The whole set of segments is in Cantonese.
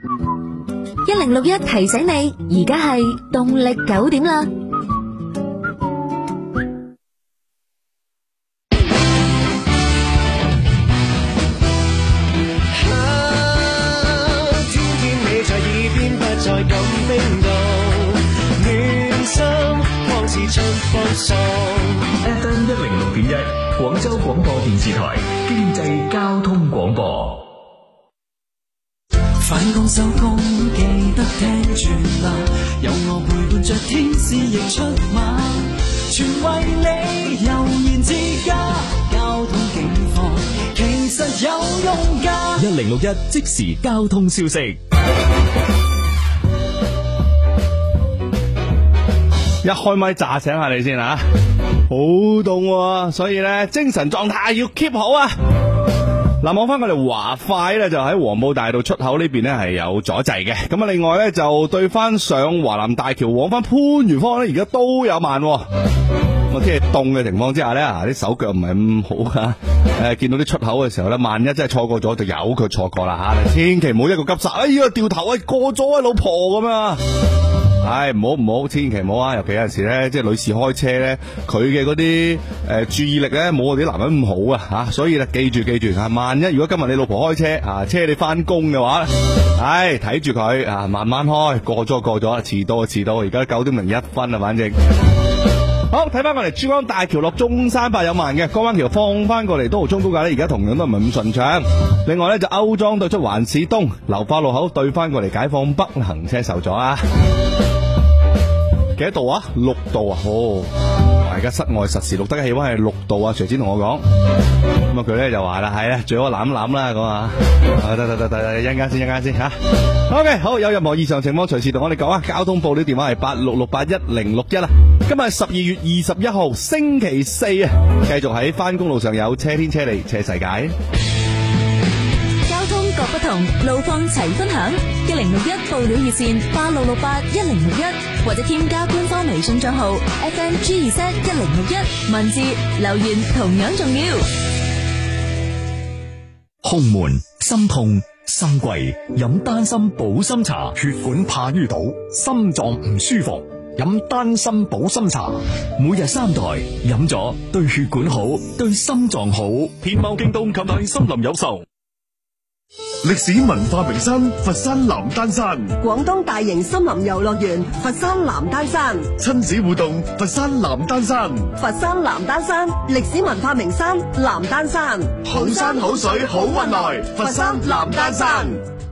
1061提醒你，而家係動力9點啦。 FM 106.1廣州廣播電視台經濟交通廣播。 返工收工記得聽住啦，有我陪伴着天使亦出馬，全為你悠然自家，交通警況其實有用㗎。 1061即時交通消息。 一開咪炸醒下你先啊，好凍，所以咧精神狀態要 keep 好啊。嗱，望翻我哋華快咧，就喺黃埔大道出口呢邊咧係有阻滯嘅。咁啊，另外咧就對翻上華南大橋往翻番禺方咧，而家都有慢。我天氣凍嘅情況之下咧，啲手腳唔係咁好啊。見到啲出口嘅時候咧，萬一真係錯過咗，就由佢錯過啦吓。千祈唔好一個急剎，哎呀掉頭啊，過咗啊老婆咁啊！唔好，千祈唔好啊！尤其有陣時咧，即係女士開車咧，佢嘅嗰啲注意力咧，冇我哋啲男人咁好啊吓，所以咧記住啊，萬一如果今日你老婆開車啊，車你翻工嘅話，睇住佢啊，慢慢開，過咗，遲到，而家9點01分啊，反正。好，睇翻我哋珠江大橋落中山八有慢嘅，江灣橋放翻過嚟都豪涌高架咧，而家同樣都唔係咁順暢。另外咧就歐莊對出環市東流花路口對翻過嚟解放北行車受阻啊。幾多度啊？6度啊！而家室外實時錄得嘅氣溫係6度啊！徐展同我講，咁啊佢咧就話啦，係啊，最好攬啦咁啊！得，一陣間先吓。OK， 好，有任何異常情況隨時同我哋講啊！交通部呢電話係86681061啦。今日係12月21號星期四啊，繼續喺翻工路上有車天車地車世界。 交通各不同，路況齊分享。1061報料熱線86681061，或者添加官方微信賬號 FMG2Z1061，文字留言同樣重要。 胸悶、心痛、心悸，飲丹參保心茶。 血管怕淤堵，心臟唔舒服，飲丹參保心茶。 每日3袋，飲咗對血管好，對心臟好。 天貓京東及大森林有售。歷史文化名山佛山南丹山， 廣東大型森林遊樂園佛山南丹山， 親子互動佛山南丹山， 佛山南丹山歷史文化名山南丹山， 好山好水好運來，佛山南丹山。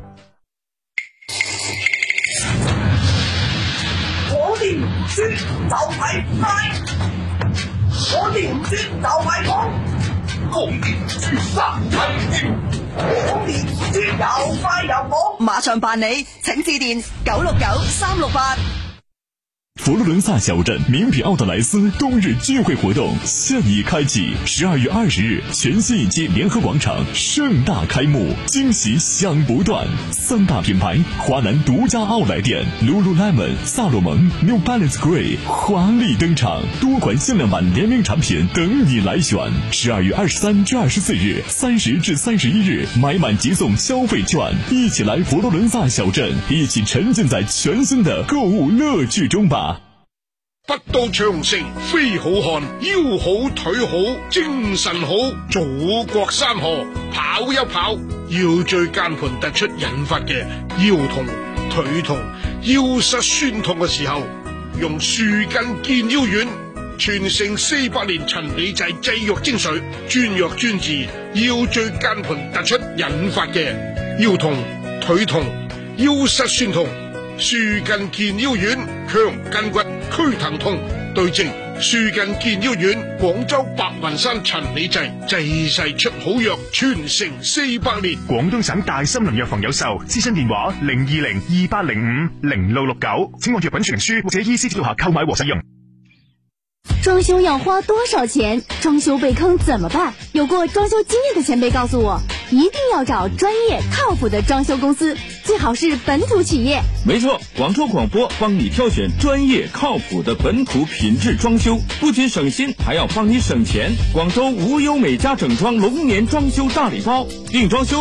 我哋唔輸就係快，我哋唔輸就係講，我哋唔輸三體添。我哋輸又快又好， 馬上辦理，請致電969368。 佛羅倫薩小鎮名品奧特萊斯冬日聚會活動現已開啟，12月20日全新一期聯合廣場盛大開幕，驚喜響不斷。3大品牌華南獨家奧萊店 Lululemon、薩洛蒙、New Balance Grey 華麗登場，多款限量版聯名產品等你來選。12月23至24日，30至31日買滿即送消費券，一起來佛羅倫薩小鎮，一起沉浸在全新的購物樂趣中吧。 不到長城非好漢，腰好腿好精神好，祖國山河跑一跑，腰椎間盤突出引發嘅腰痛、腿痛、腰膝酸痛嘅時候，用舒筋健腰丸，傳承400年陳李濟製藥精髓，專藥專治腰椎間盤突出引發嘅腰痛、腿痛、腰膝酸痛。舒筋健腰丸，強筋骨，驅疼痛，對症舒筋健腰丸，廣州白雲山陳李濟濟世出好藥，傳承400年。 廣東省大森林藥房有售，諮詢電話02028050669，請按藥品說明書或者醫師指導下購買和使用。 裝修要花多少錢？裝修被坑怎麼辦？有過裝修經驗的前輩告訴我，一定要找專業靠譜的裝修公司，最好是本土企業。 沒錯，廣州廣播幫你挑選專業靠譜的本土品質裝修，不僅省心，還要幫你省錢。廣州無憂美家整裝龍年裝修大禮包，訂裝修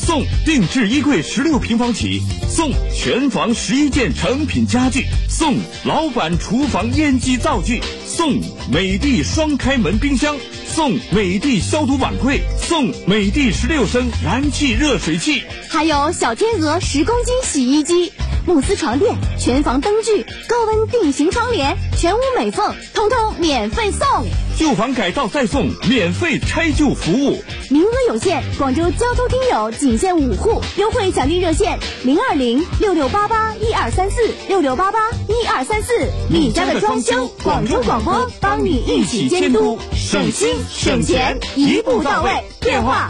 送定制衣柜16平方起，送全房11件成品家具，送老板厨房烟机灶具，送美的双开门冰箱，送美的消毒碗柜，送美的16升燃气热水器， 还有小天鹅10公斤洗衣机，慕斯床垫、全房灯具、高温定型窗帘、全屋美缝，通通免费送。 旧房改造再送免费拆旧服务， 名额有限，广州交通听友仅限5户，优惠奖励热线020-6688-1234，6688-1234。你家的装修，广州广播帮你一起监督，省心省钱，一步到位。电话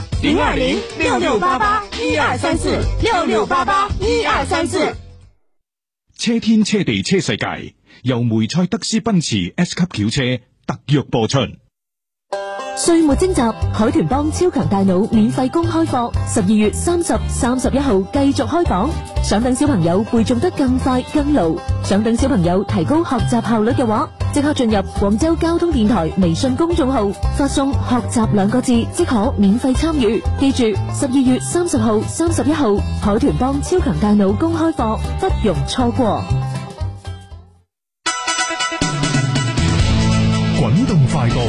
020-6688-1234，6688-1234。 車天車地車世界由梅賽德斯奔馳 S 級轎車特約播出。 歲末徵集海豚幫超強大腦免費公開課，12月30、31號繼續開講。想等小朋友背誦得更快更牢，想等小朋友提高學習效率嘅話，即刻進入廣州交通電台微信公眾號，發送學習2個字即可免費參與。記住12月30號、31號海豚幫超強大腦公開課不容錯過。 滾動快報。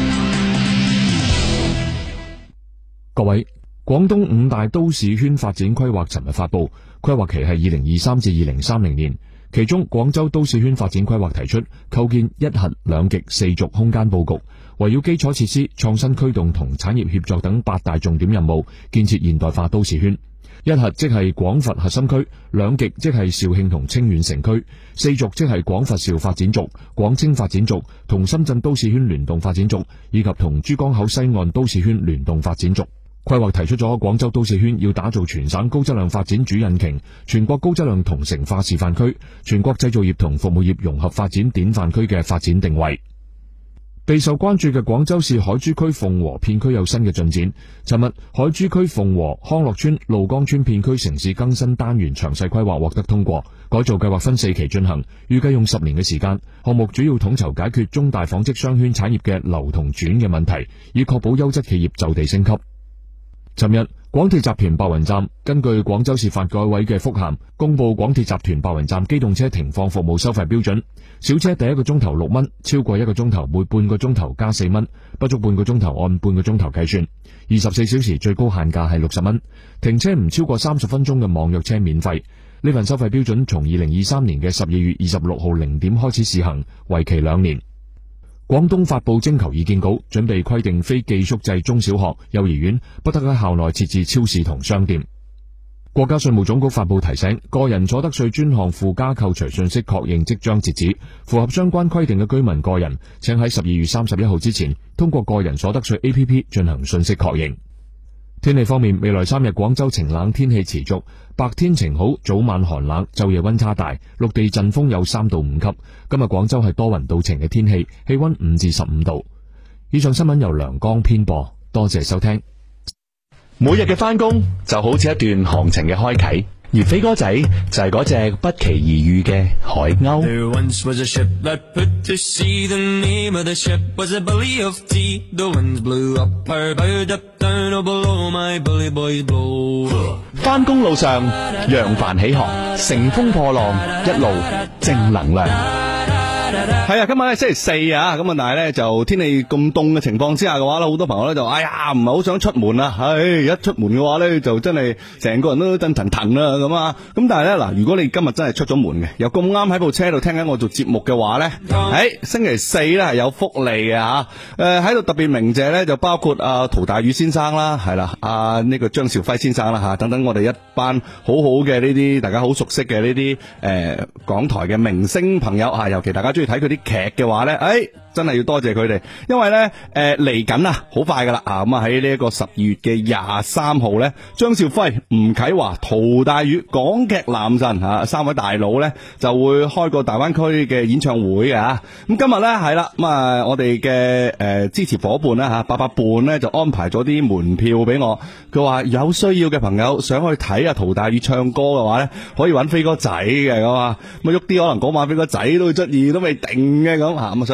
各位，廣東5大都市圈發展規劃尋日發布，規劃期係2023至2030年。其中，廣州都市圈發展規劃提出構建一核兩極四軸空間佈局，圍繞基礎設施、創新驅動同產業協作等8大重點任務，建設現代化都市圈。一核即係廣佛核心區，兩極即係肇慶同清遠城區，四軸即係廣佛肇發展軸、廣清發展軸同深圳都市圈聯動發展軸，以及同珠江口西岸都市圈聯動發展軸。規劃提出咗廣州都市圈要打造全省高質量發展主引擎、全國高質量同城化示範區、全國製造業同服務業融合發展典範區嘅發展定位。備受關注嘅廣州市海珠區鳳和片區有新嘅進展。尋日，海珠區鳳和康樂村、怒江村片區城市更新單元詳細規劃獲得通過，改造計劃分4期進行，預計用10年嘅時間。項目主要統籌解決中大紡織商圈產業嘅流同轉嘅問題，以確保優質企業就地升級。尋日，廣鐵集團白雲站根據廣州市發改委嘅覆函，公布廣鐵集團白雲站機動車停放服務收費標準。小車第1個鐘頭6蚊，超過1個鐘頭每半個鐘頭加4蚊，不足半個鐘頭按半個鐘頭計算。24小時最高限價係60蚊，停車唔超過30分鐘嘅網約車免費。呢份收費標準從2023年嘅12月26號0點開始試行，為期2年。廣東發布徵求意見稿，準備規定非寄宿制中小學、幼兒園不得喺校內設置超市同商店。國家稅務總局發布提醒，個人所得稅專項附加扣除信息確認即將截止，符合相關規定嘅居民個人，請喺12月31號之前通過個人所得稅 APP 進行信息確認。天氣方面，未來3日廣州晴冷天氣持續，白天晴好，早晚寒冷，晝夜溫差大，陸地陣風有3到5級。今日廣州係多雲到晴嘅天氣，氣溫5至15度。以上新聞由梁江編播，多謝收聽。 每日嘅返工就好似一段行程嘅開啟，而飛哥仔就係嗰隻不期而遇嘅海鷗。 There once was a ship that put to sea. The name of the ship was a Bully of Tea. The winds blew up her bow, up down, oh below my bully boys blow. 返工路上揚帆起航，乘風破浪，一路正能量。 係啊，今晚咧星期4啊，咁啊，但係咧就天氣咁凍嘅情況之下嘅話咧，好多朋友咧就哎呀唔係好想出門啊，一出門嘅話咧就真係成個人都震騰騰啦咁啊，咁但係咧嗱，如果你今日真係出咗門嘅，又咁啱喺部車度聽緊我做節目嘅話咧，星期4咧係有福利嘅吓，喺度特別鳴謝咧就包括陶大宇先生啦，係啦，呢個張兆輝先生啦吓，等等我哋一班好好嘅呢啲大家好熟悉嘅呢啲港台嘅明星朋友吓，尤其大家中意睇佢啲劇嘅話咧，真係要多謝佢哋，因為咧嚟緊啊，好快噶啦啊！咁啊喺呢一個12月嘅23號咧，張兆輝、吳啟華、陶大宇、港劇男神3位大佬咧就會開個大灣區嘅演唱會嘅吓。咁今日咧係啦，咁啊我哋嘅支持伙伴啦吓，88伴咧就安排咗啲門票俾我。佢話有需要嘅朋友想去睇啊陶大宇唱歌嘅話咧，可以揾飛哥仔嘅咁啊。咁喐啲可能嗰晚飛哥仔都會出現都未定嘅咁吓。咁所以我哋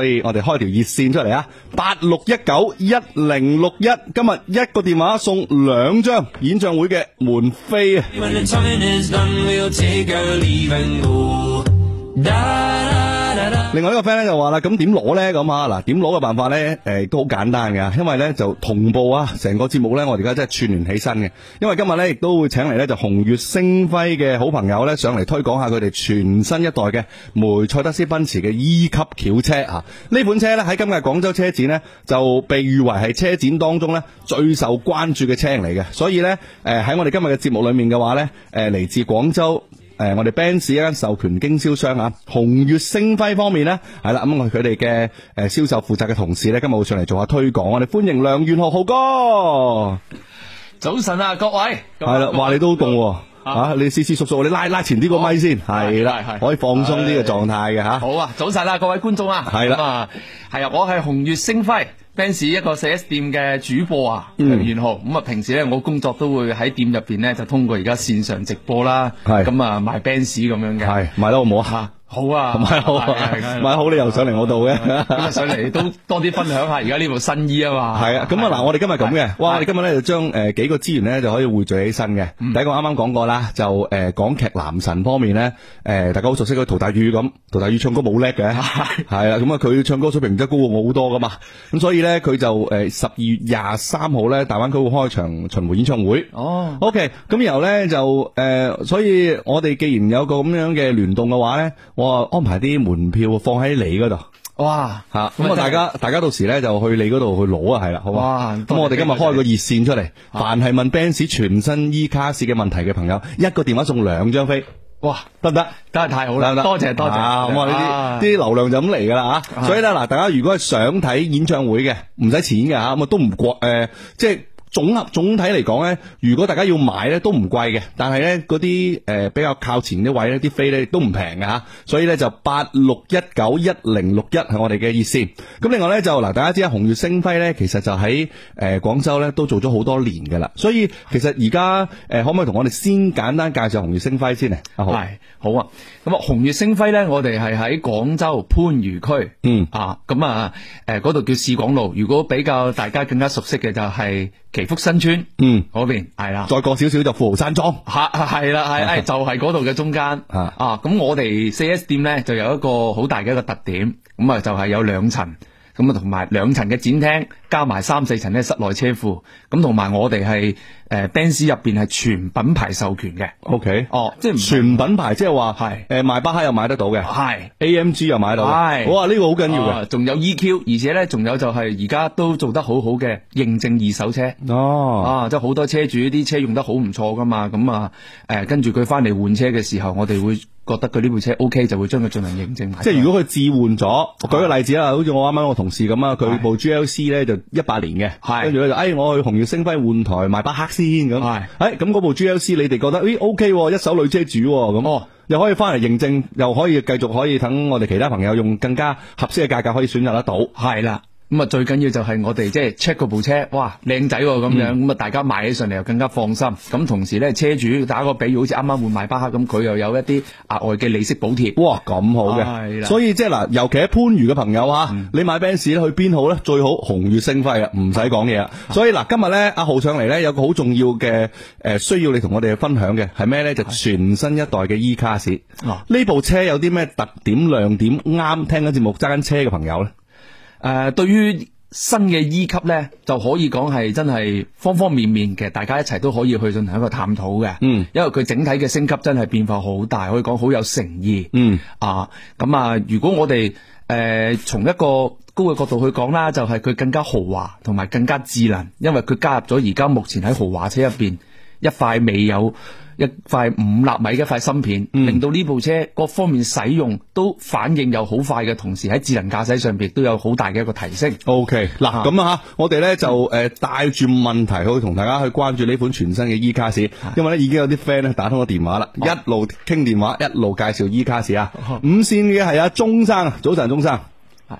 開條熱線出嚟啊，86191061，今日一個電話送2張演唱會嘅門飛啊！另外一個 friend 咧就話啦，咁點攞咧咁啊？嗱，點攞嘅辦法咧，都好簡單嘅，因為咧就同步啊，成個節目咧，我哋而家真係串聯起身嘅。因為今日咧亦都會請嚟咧就紅月星輝嘅好朋友咧上嚟推廣下佢哋全新一代嘅梅賽德斯奔馳嘅 E 級轎車啊！呢款車咧喺今屆廣州車展咧就被譽為係車展當中咧最受關注嘅車型嚟嘅，所以咧喺我哋今日嘅節目裏面嘅話咧，嚟自廣州。我哋 Benz 一間授權經銷商啊，紅月星輝方面呢，係啦，咁佢哋嘅銷售負責嘅同事呢，今日會上嚟做下推廣，我哋歡迎梁元浩哥。 早晨啊，各位。 係啦，話你都好凍啊！你斯斯縮縮，你拉前啲個咪先，係啦，可以放鬆啲嘅狀態嘅吓。 好啊，早晨啊，各位觀眾啊， 係啦， 係啊，我係紅月星輝。Benz 一個 4S 店嘅主播啊，袁浩。咁啊，平時咧我工作都會喺店入邊咧，就通過而家線上直播啦。咁啊賣 Benz 咁樣嘅。係賣得好唔好啊？好啊，賣好啊，賣好你又上嚟我度嘅。咁啊上嚟都多啲分享下而家呢部新衣啊嘛。係啊，咁啊嗱，我哋今日咁嘅，哇！我哋今日咧就將幾個資源咧就可以匯聚起身嘅。第一個啱啱講過啦，就港劇男神方面咧，大家好熟悉嗰陶大宇咁，陶大宇唱歌冇叻嘅，係啦，咁啊佢唱歌水平真係高過我好多噶嘛。咁所以咧佢就12月23號咧大灣區會開場巡迴演唱會。哦 ，OK， 咁然後咧就所以我哋既然有個咁樣嘅聯動嘅話咧，我安排啲門票放喺你嗰度。哇，吓咁啊！大家到時咧就去你嗰度去攞啊，係啦，好嘛？哇！咁我哋今日開個熱線出嚟，凡係問 Benz 全新 E 卡士嘅問題嘅朋友，一個電話送2張飛。哇，得唔得？真係太好啦！多謝多謝。咁啊呢啲流量就咁嚟噶啦吓。所以咧嗱，大家如果係想睇演唱會嘅，唔使錢嘅吓，咁啊都唔貴即係。總體嚟講咧，如果大家要買咧都唔貴嘅，但係咧嗰啲比較靠前啲位咧，啲飛咧都唔平嘅吓，所以咧就86191061係我哋嘅熱線。咁另外咧就嗱，大家知啊，紅月星輝咧其實就喺廣州咧都做咗好多年嘅啦，所以其實而家可唔可以同我哋先簡單介紹紅月星輝先呢？好啊，咁啊，紅月星輝咧，我哋係喺廣州番禺區，嗰度叫市廣路。如果比較大家更加熟悉嘅就係祈福新村，嗰邊係啦，再過少少就富豪山莊，係啦，就係嗰度嘅中間咁我哋 4S 店咧就有一個好大嘅一個特點，咁啊就係有2層，咁啊同埋2層嘅展廳，加埋3、4層咧室內車庫，咁同埋我哋係Benz 入邊係全品牌授權嘅。OK， 即係全品牌，即係話係邁巴赫又買得到嘅，係 AMG 又買到嘅，係哇，呢個好緊要嘅，仲有 EQ， 而且咧仲有就係而家都做得好好嘅認證二手車。即係好多車主啲車用得好唔錯噶嘛，咁啊跟住佢翻嚟換車嘅時候，我哋會覺得佢呢部車 OK， 就會將佢進行認證。即係如果佢置換咗，我舉個例子啦，好似我啱啱我同事咁啊，佢部 GLC 咧就18年嘅，跟住咧就我去紅月星輝換台邁巴赫先咁，咁嗰部 GLC 你哋覺得OK， 一手女車主咁，又可以翻嚟認證，又可以繼續可以等我哋其他朋友用更加合適嘅價格可以選擇得到。係啦。咁啊，最緊要就係我哋即係 check 嗰部車，哇，靚仔咁樣，咁啊，大家買起上嚟又更加放心。咁同時咧，車主打個比喻，好似啱啱換邁巴赫咁，佢又有一啲額外嘅利息補貼。哇，咁好嘅，係啦。所以即係嗱，尤其喺番禺嘅朋友啊，你買 Benz 咧去邊好咧？最好紅月星輝啊，唔使講嘢啦。所以嗱，今日咧阿浩上嚟咧有個好重要嘅需要你同我哋分享嘅係咩咧？就全新一代嘅 E 卡士。呢部車有啲咩特點亮點啱聽緊節目揸緊車嘅朋友咧？對於新嘅 E 級咧，就可以講係真係方方面面嘅，大家一齊都可以去進行一個探討嘅。因為佢整體嘅升級真係變化好大，可以講好有誠意。如果我哋從一個高嘅角度去講啦，就係佢更加豪華同埋更加智能，因為佢加入咗而家目前喺豪華車入邊一塊未有一塊5納米嘅一塊芯片，令到呢部車各方面使用都反應又好快嘅，同時喺智能駕駛上邊都有好大嘅一個提升。OK， 嗱咁啊，我哋咧就帶住問題去同大家去關注呢款全新嘅 E 卡士，因為咧已經有啲 friend 咧打通咗電話啦，一路傾電話一路介紹 E 卡士啊。5線嘅係阿鐘生，早晨鐘生。係，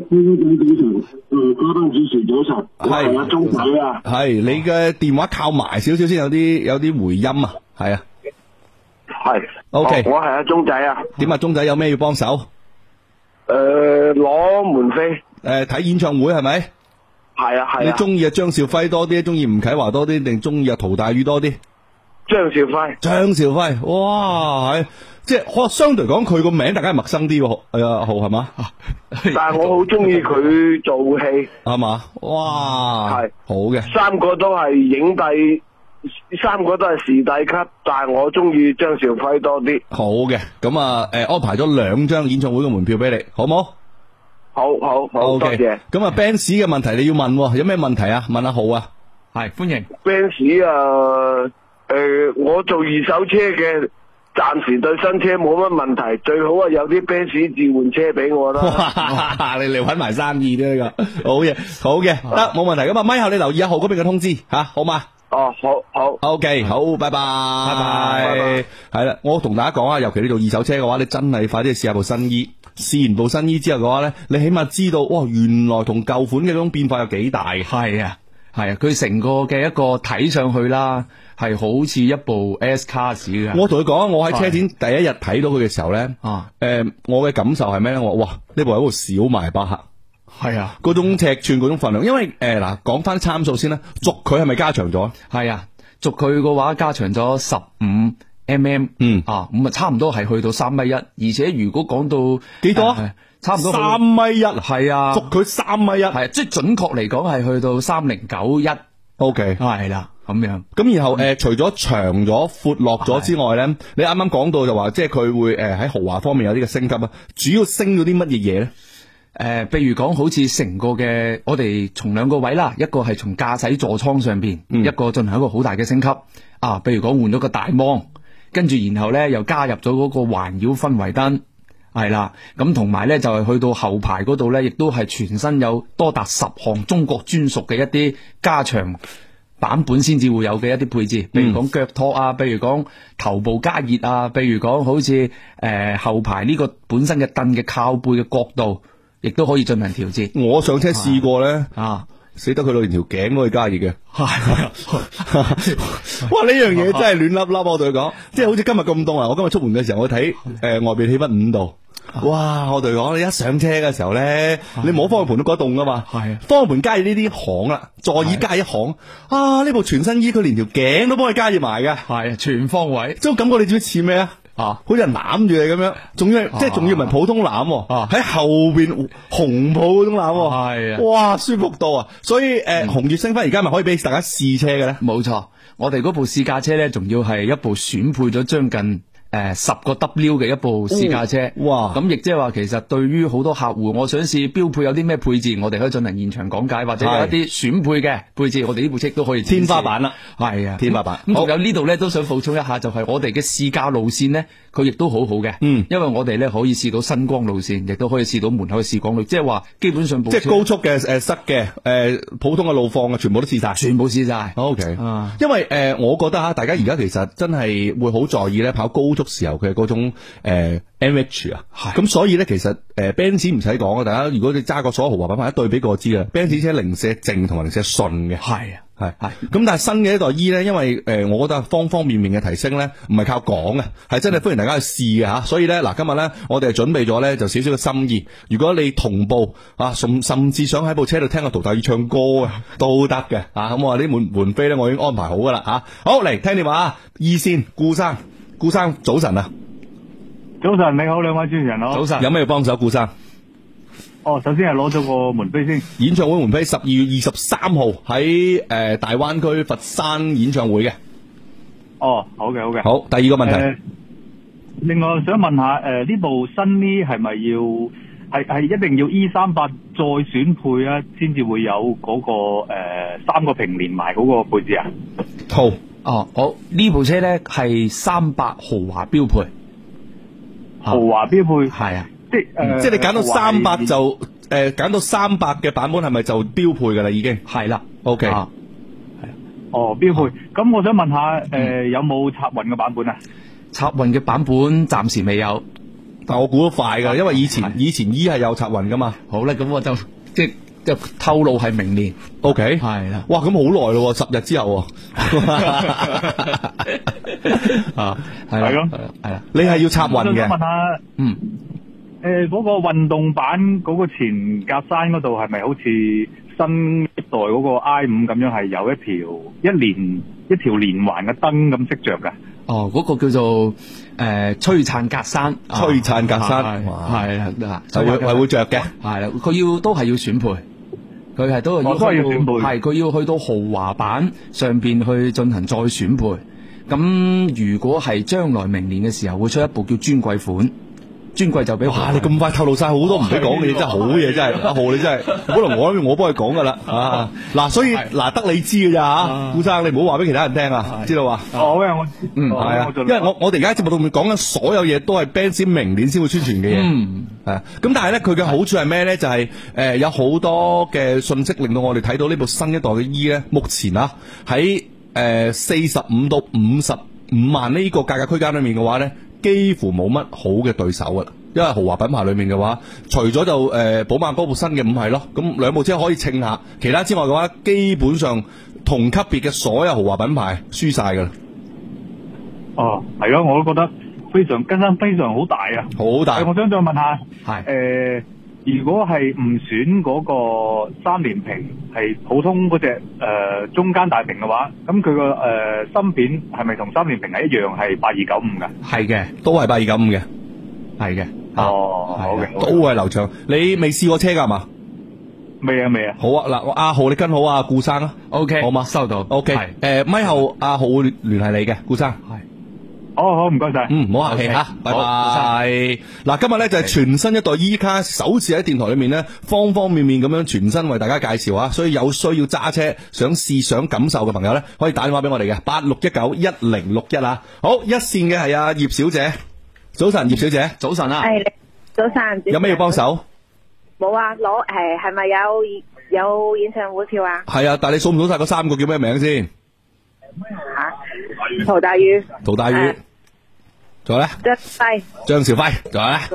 嘉賓主持早晨，係阿鐘仔啊。係，你嘅電話靠埋少少先有啲回音啊。係啊，係 ，OK， 我係阿鐘仔啊。點啊，鐘仔有咩要幫手？攞門飛。 睇演唱會係咪？ 係啊係啊。 你中意張兆輝多啲，中意吳啟華多啲，定中意陶大宇多啲？ 張兆輝。 張兆輝，哇，係即係相對嚟講，佢個名大家係陌生啲喎。阿浩係嘛？ 但係我好中意佢做戲， 係嘛？哇，係好嘅。 三個都係影帝。三個都係視帝級，但係我中意張兆輝多啲。 好嘅，咁啊，安排咗2張演唱會嘅門票俾你，好冇？ 好，多謝。 咁啊 ，Benz 嘅問題你要問，有咩問題啊？問阿浩啊。 係歡迎。 Benz 啊，我做二手車嘅，暫時對新車冇乜問題，最好啊有啲 Benz 置換車俾我啦。 哇，你嚟搵埋生意啫呢個，好嘅，得冇問題。咁啊，咪後你留意阿浩嗰邊嘅通知吓，好嘛？ 哦，好 ，OK，好，拜拜，係啦，我同大家講啊，尤其你做二手車嘅話，你真係快啲去試下部新衣，試完部新衣之後嘅話咧，你起碼知道，哇，原來同舊款嘅嗰種變化有幾大。 係啊，佢成個嘅一個睇上去啦，係好似一部 S Class 嘅。 我同佢講，我喺車展第一日睇到佢嘅時候咧，我嘅感受係咩咧？我話哇，呢部係一部小邁巴赫。 係啊， 嗰種尺寸，嗰種份量，因為嗱，講翻參數先啦，軸距係咪加長咗？ 係啊，軸距嘅話加長咗15 mm， 咁啊差唔多係去到3.1米，而且如果講到幾多？ 差唔多 3.1米， 係啊， 軸距3.1米， 係即係準確嚟講係去到3091。 OK， 係啦，咁樣。 咁然後除咗長咗、闊落咗之外咧，你啱啱講到就話，即係佢會喺豪華方面有啲嘅升級啊，主要升咗啲乜嘢嘢咧？ 譬如講好似成個嘅，我哋從2個位啦，一個係從駕駛座艙上邊，一個進行一個好大嘅升級。譬如講換咗個大芒，跟住然後咧又加入咗嗰個環繞氛圍燈，係啦，咁同埋咧就係去到後排嗰度咧，亦都係全新有多達10項中國專屬嘅一啲加長版本先至會有嘅一啲配置，譬如講腳托啊，譬如講頭部加熱啊，譬如講好似後排呢個本身嘅凳嘅靠背嘅角度。亦都可以進行調節。 我上車試過咧，死得佢連條頸都可以加熱嘅。哇！呢樣嘢真係亂粒粒，我同佢講，即係好似今日咁凍啊！我今日出門嘅時候，我睇外邊氣溫5度。哇！我同佢講，你一上車嘅時候咧，你摸方向盤都覺得凍噶嘛。係方向盤加熱呢啲行啦，座椅加一行。呢部全新衣佢連條頸都幫你加熱埋嘅。 係全方位。 即係感覺你知唔知似咩啊？好似人攬住你咁樣，仲要即係仲要唔係普通攬，喺後邊紅袍嗰種攬，係啊，哇，舒服到啊！所以紅月星輝而家咪可以俾大家試車嘅咧？ 冇錯，我哋嗰部試駕車咧，仲要係一部選配咗將近10個 W 嘅一部試駕車。哇！咁亦即係話，其實對於好多客戶，我想試標配有啲咩配置，我哋可以進行現場講解，或者有一啲選配嘅配置，我哋呢部車都可以天花板啦。 係啊， 天花板。 咁仲有呢度咧，都想補充一下，就係我哋嘅試駕路線咧，佢亦都好好嘅。因為我哋咧可以試到新光路線，亦都可以試到門口嘅視光路，即係話基本上即係高速嘅塞嘅普通嘅路況嘅全部都試晒， 全部試晒。 OK。因為我覺得大家而家其實真係會好在意咧跑高速時候嘅嗰種MH 啊，咁所以咧其實Benz 唔使講啊，大家如果你揸過所有豪華品牌一對比過知啦，Benz 車零舍靜同埋零舍順嘅。係啊。係，咁但係新嘅一代 E 咧，因為我覺得方方面面嘅提升咧，唔係靠講嘅，係真係歡迎大家去試嘅吓。所以咧，嗱今日咧，我哋準備咗咧就少少嘅心意。如果你同步甚至想喺部車度聽個陶大宇唱歌啊，都得嘅咁我話啲門飛咧，我已經安排好噶啦吓。好，嚟聽電話，E線顧生早晨啊！ 早晨，你好，兩位主持人好。 早晨，有咩要幫手，顧生？ 首先係攞咗個門飛先。 演唱會門飛12月23號喺大灣區佛山演唱會嘅。 好嘅。 好，第二個問題。 另外想問下，呢部新呢係咪係一定要 E38再選配啊，先至會有嗰個3個屏連埋嗰個配置啊？ 好，呢部車咧係38豪華標配。 豪華標配係啊。 即係你揀到300就揀到300嘅版本係咪就標配噶啦？已經係啦。 OK。 係。標配。咁我想問下，有冇插混嘅版本啊？ 插混嘅版本暫時未有， 但我估得快噶，因為以前 E 係有插混噶嘛。 好啦，咁我就透露係明年。 OK。 係啦。 哇，咁好耐咯，10日之後。 係咯。 係啦。你係要插混嘅。 我想問下， 嗰個運動版嗰個前格柵嗰度係咪好似新一代嗰個 I5咁樣係有一條連環嘅燈咁識着㗎？ 哦，嗰個叫做璀璨格柵， 璀璨格柵係啦， 係會着嘅， 係啦，佢都係要選配。佢係都係要選配，係佢要去到豪華版上邊去進行再選配。咁如果係將來明年嘅時候會出一部叫尊貴款，尊貴就俾哇！你咁快透露晒好多唔俾講嘅嘢，真係好嘢，真係阿浩你真係，本來我幫佢講噶啦啊！嗱，所以嗱得你知嘅咋吓，顧生你唔好話俾其他人聽啊，知道嘛？ 好嘅，我係啊，因為我哋而家節目度面講緊所有嘢都係 Benz 明年先會宣傳嘅嘢，係咁但係咧佢嘅好處係咩咧？就係有好多嘅信息令到我哋睇到呢部新一代嘅 E 咧，目前啊喺45到55萬呢個價格區間裏面嘅話咧，幾乎冇乜好嘅對手噶啦。因為豪華品牌裏面嘅話，除咗就寶馬嗰部新嘅五系咯，咁兩部車可以稱下，其他之外嘅話，基本上同級別嘅所有豪華品牌輸晒噶啦。 哦，係咯，我都覺得非常更新非常好大啊， 好大。 我想再問下， 係如果係唔選嗰個3連屏，係普通嗰隻中間大屏嘅話，咁佢個芯片係咪同3連屏係一樣係8295噶？ 係嘅，都係8295嘅，係嘅。 哦，好嘅， 都係流暢。你未試過車噶嘛？ 未啊。 好啊，嗱，阿浩你跟好啊，顧生啊 ，OK， 好嘛， 收到。 OK，咪後阿浩會聯繫你嘅，顧生。係。 好，唔該晒。 唔好客氣吓，拜拜。嗱，今日咧就係全新一代 E 卡首次喺電台裏面咧，方方面面咁樣全新為大家介紹啊！所以有需要揸車想試想感受嘅朋友咧，可以打電話俾我哋嘅86191061啊。好，一線嘅係阿葉小姐，早晨，葉小姐，早晨啊。 係，早晨。 有咩要幫手？ 冇啊，係咪有演唱會票啊？ 係啊，但係你數唔數晒嗰3個叫咩名先？ 陶大宇， 仲有咧？張兆輝，仲有咧？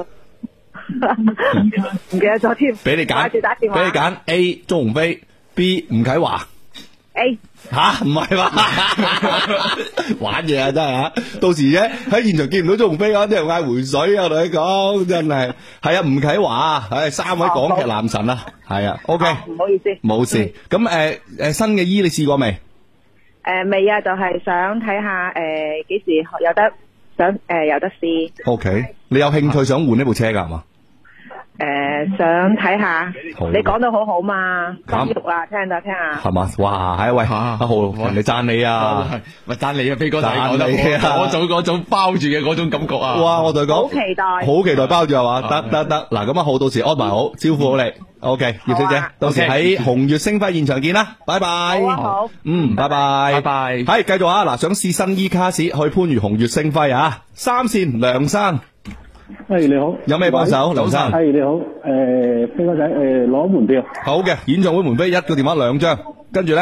唔記得咗添。 俾你揀 A 鍾鴻飛 ，B 吳啟華。 A 吓，唔係嘛？玩嘢啊，真係啊！到時啫喺現場見唔到鍾鴻飛，啲人嗌回水啊！我同你講，真係係啊，吳啟華，係3位港劇男神啊，係啊 ，OK， 唔好意思， 冇事。咁新嘅衣你試過未？ 未啊，就係想睇下幾時有得試。 OK， 你有興趣想換呢部車噶係嘛？ 想睇下。你講得好好嘛，心喐啊，聽下。 係嘛？哇，係喂，阿浩，人哋讚你啊， 咪讚你啊，飛哥仔， 讚你啊， 嗰種包住嘅嗰種感覺啊！ 哇，我同你講， 好期待包住係嘛？得，嗱，咁阿浩到時安排好，招呼好你。OK，葉小姐，到時喺紅月星輝現場見啦，拜拜。 好， 拜拜。係繼續啊！嗱，想試新 E 卡士去番禺紅月星輝啊，3線梁生。 你好， 有咩幫手？梁生， 你好，飛哥仔，攞門票。 好嘅，演唱會門飛，一個電話2張，跟住咧，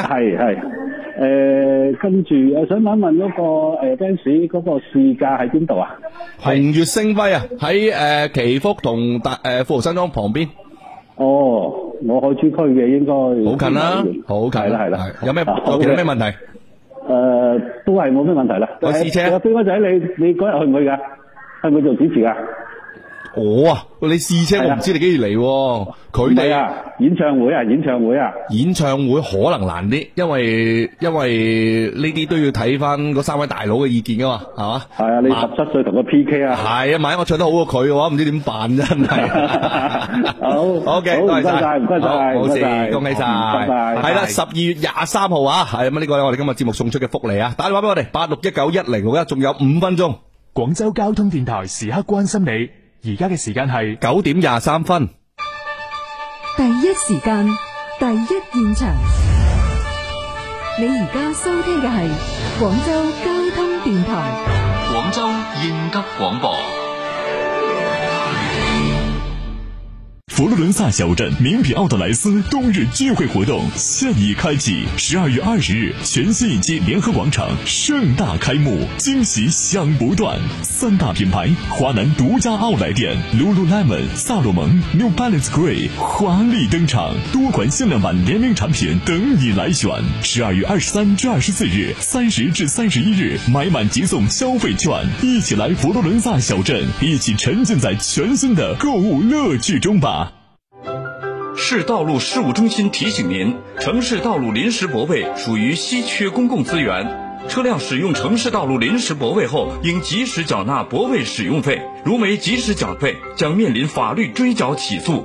跟住想問嗰個Benz嗰個試駕喺邊度啊？ 紅月星輝啊，喺祈福同富豪山莊旁邊。 哦，我海珠區嘅應該好近啦，好近係啦。有咩問題？ 都係冇咩問題啦。 我試車。 飛哥仔，你嗰日去唔去噶？去唔去做主持噶？ 我啊，你試車我唔知你幾時嚟，佢哋啊，演唱會可能難啲，因為呢啲都要睇翻嗰3位大佬嘅意見噶嘛，係嘛？ 係啊，你17歲同佢 PK 啊？ 係啊，萬一我唱得好過佢嘅話，唔知點辦真係。好，OK，多謝晒， 唔該晒， 冇事，恭喜晒， 拜拜。 係啦，12月23號啊，係咁呢個我哋今日節目送出嘅福利啊，打電話俾我哋86191061，仲有5分鐘。 廣州交通電台時刻關心你。而家嘅時間係 9點23分， 第一時間，第一現場。你而家收聽嘅係廣州交通電台， 廣州應急廣播。 佛罗伦萨小镇名品奥特莱斯冬日聚会活动现已开启，12月20日全新一期联合广场盛大开幕，惊喜响不断。3大品牌华南独家奥莱店 Lululemon、萨洛蒙、New Balance Grey 华丽登场，多款限量版联名产品等你来选。12月23至24日，30至31日买满即送消费券，一起来佛罗伦萨小镇，一起沉浸在全新的购物乐趣中吧。 市道路事务中心提醒您，城市道路临时泊位属于稀缺公共资源，车辆使用城市道路临时泊位后，应及时缴纳泊位使用费，如没及时缴费，将面臨法律追繳起訴。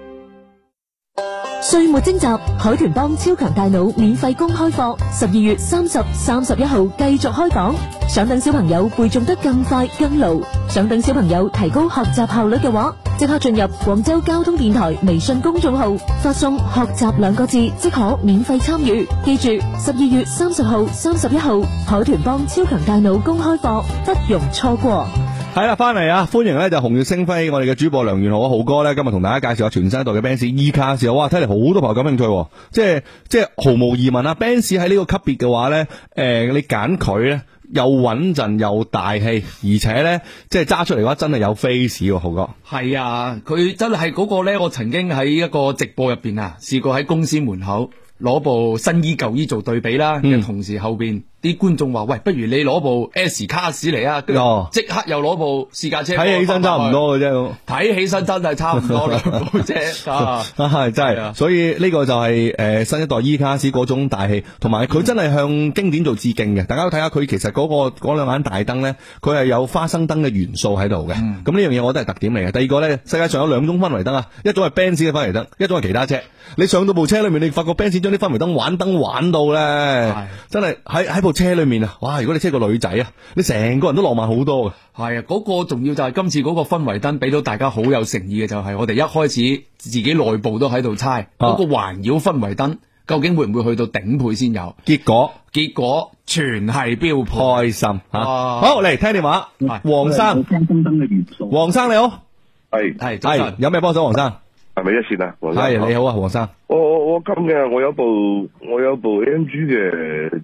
歲末徵集海豚幫超強大腦免費公開課，12月30、31號繼續開講。想等小朋友背誦得更快更牢，想等小朋友提高學習效率嘅話，即刻進入廣州交通電台微信公眾號，發送學習2個字即可免費參與。記住12月30號、31號海豚幫超強大腦公開課不容錯過。 係啦，翻嚟啊！歡迎咧就紅月星輝，我哋嘅主播梁元豪浩哥咧，今日同大家介紹下全新一代嘅 Benz E-Class。哇，睇嚟好多朋友感興趣，即係毫無疑問啊 ！Benz 喺呢個級別嘅話咧，你揀佢咧又穩陣又大氣，而且咧即係揸出嚟嘅話真係有 face 喎，浩哥。 係啊，佢真係嗰個咧，我曾經喺一個直播入邊啊，試過喺公司門口攞部新衣舊衣做對比啦，同時後邊啲觀眾話：喂，不如你攞部 S 卡士嚟啊！跟住即刻又攞部試駕車， 睇起身差唔多嘅啫。 睇起身真係差唔多兩部啫啊！ 係真係，所以呢個就係新一代 E-Class 嗰種大氣，同埋佢真係向經典做致敬嘅。大家都睇下佢其實嗰兩眼大燈咧，佢係有花生燈嘅元素喺度嘅。咁呢樣嘢我覺得係特點嚟嘅。第二個咧，世界上有2種氛圍燈啊，一種係 Benz 嘅氛圍燈，一種係其他車。你上到部車裏面，你發覺 Benz 將啲氛圍燈玩到咧，真係喺部車裏面啊！哇！如果你車個女仔啊，你成個人都浪漫好多嘅。 係啊，嗰個重要就係今次嗰個氛圍燈俾到大家好有誠意嘅，就係我哋一開始自己內部都喺度猜嗰個環繞氛圍燈究竟會唔會去到頂配先有？結果全係標配， 開心吓。好，嚟聽電話，黃生，黃生你好，係有咩幫手？黃生係咪一線啊？黃生係你好啊，黃生。 我今嘅我有部 AMG 嘅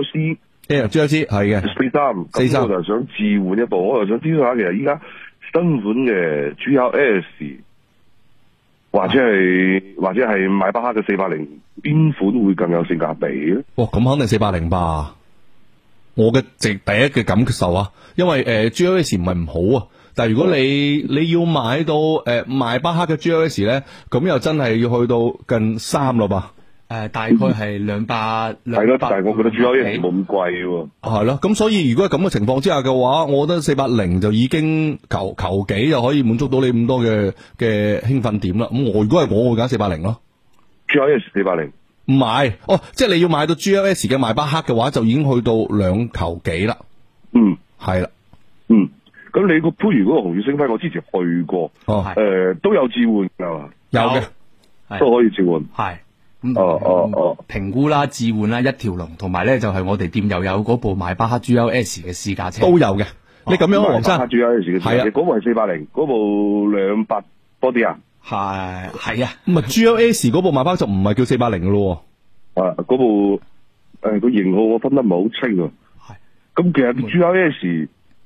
GLC 係嘅 43，咁我就想置換一部，我又想知道下其實依家新款嘅 GLS 或者係邁巴赫嘅480，邊款會更有性價比咧？ 哇，咁肯定480吧。我嘅第一嘅感受啊，因為GLS 唔係唔好啊，但係如果你要買到邁巴赫嘅 GLS 咧，咁又真係要去到近3咯吧。 大概係200， 係咯，但係我覺得 GLS 冇咁貴喎。 係咯，咁所以如果係咁嘅情況之下嘅話，我覺得480就已經求幾就可以滿足到你咁多嘅興奮點啦。咁如果係我會揀480咯。 GLS 480 唔係，即係你要買到 GLS 嘅邁巴赫嘅話，就已經去到2求幾啦。係啦。 咁你個番禺嗰個紅月星輝，我之前去過，都有置換噶嘛？ 有嘅， 都可以置換。 係。評估啦、置換啦、一條龍，同埋咧就係我哋店又有嗰部邁巴赫 GLS 嘅試駕車都有嘅。你咁樣，黃生邁巴赫 GLS 嘅試駕車，嗰部係480，嗰部200多啲啊？ 係啊。 咁啊 GLS 嗰部邁巴赫就唔係叫480嘅咯。 嗰部個型號我分得唔係好清啊。係。咁其實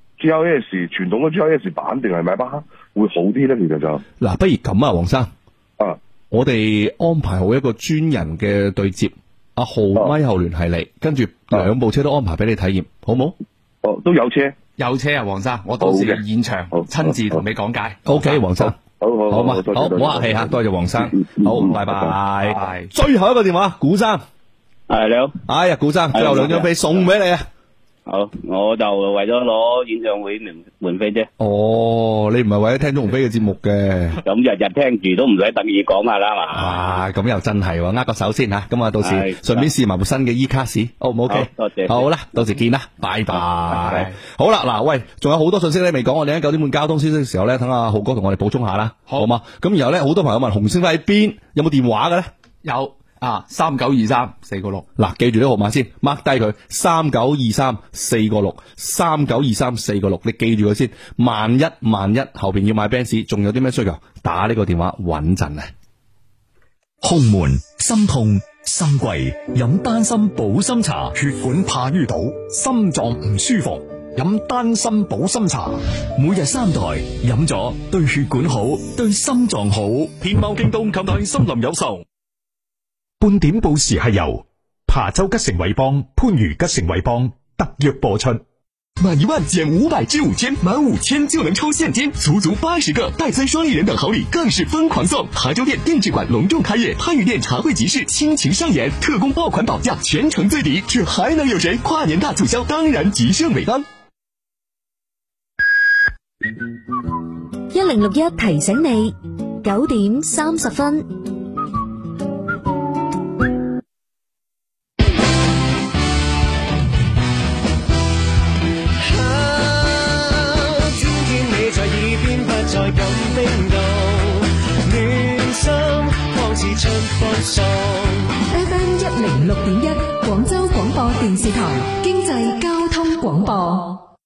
GLS 傳統嘅 GLS 版定係邁巴赫會好啲咧？其實就嗱，不如咁啊，黃生。我哋安排好一個專人嘅對接，阿浩咪後聯繫你，跟住2部車都安排俾你體驗，好冇？ 都有車啊，黃生，我到時現場親自同你講解。 OK， 黃生，好嘛，好，唔好客氣吓，多謝黃生，好，拜拜。最後一個電話，古生， 係你好， 哎呀，古生，最後2張飛送俾你啊！ 好，我就為咗攞演唱會門飛啫。 你唔係為咗聽鍾鴻飛嘅節目嘅？ 咁日日聽住都唔使特意講下啦嘛。 咁又真係握個手先吓，咁啊到時順便試埋部新嘅 E-Class，好唔 OK？ 多謝。 好啦，到時見啦，拜拜。好啦，嗱，喂，仲有好多信息咧未講，我哋喺9點半交通消息嘅時候咧，等阿浩哥同我哋補充下啦，好嘛？咁然後咧，好多朋友問紅星輝喺邊，有冇電話嘅咧？ 有。 3923-4個6。 嗱，記住呢個號碼先 ，mark 低佢3923-4個6，3923-4個6，你記住佢先。萬一後邊要買 Benz， 仲有啲咩需求，打呢個電話穩陣啊！ 胸悶、心痛、心悸，飲丹參保心茶，血管怕淤堵，心臟唔舒服，飲丹參保心茶，每日3袋，飲咗對血管好，對心臟好。天貓京東購買森林有售。 半點報時係由琶洲吉盛偉邦、番禺吉盛偉邦特約播出。 滿1萬減500至5000，滿5000就能抽現金，足80個，戴森雙立人等好禮更是瘋狂送。琶洲店定制館隆重開業，番禺店茶會集市親情上演，特供爆款保價，全城最抵，這還能有誰？跨年大促銷，當然吉盛偉邦。 1061提醒你9點30分。 在咁冰凍，暖心仿似春風送。 FM 106.1廣州廣播電視台經濟交通廣播。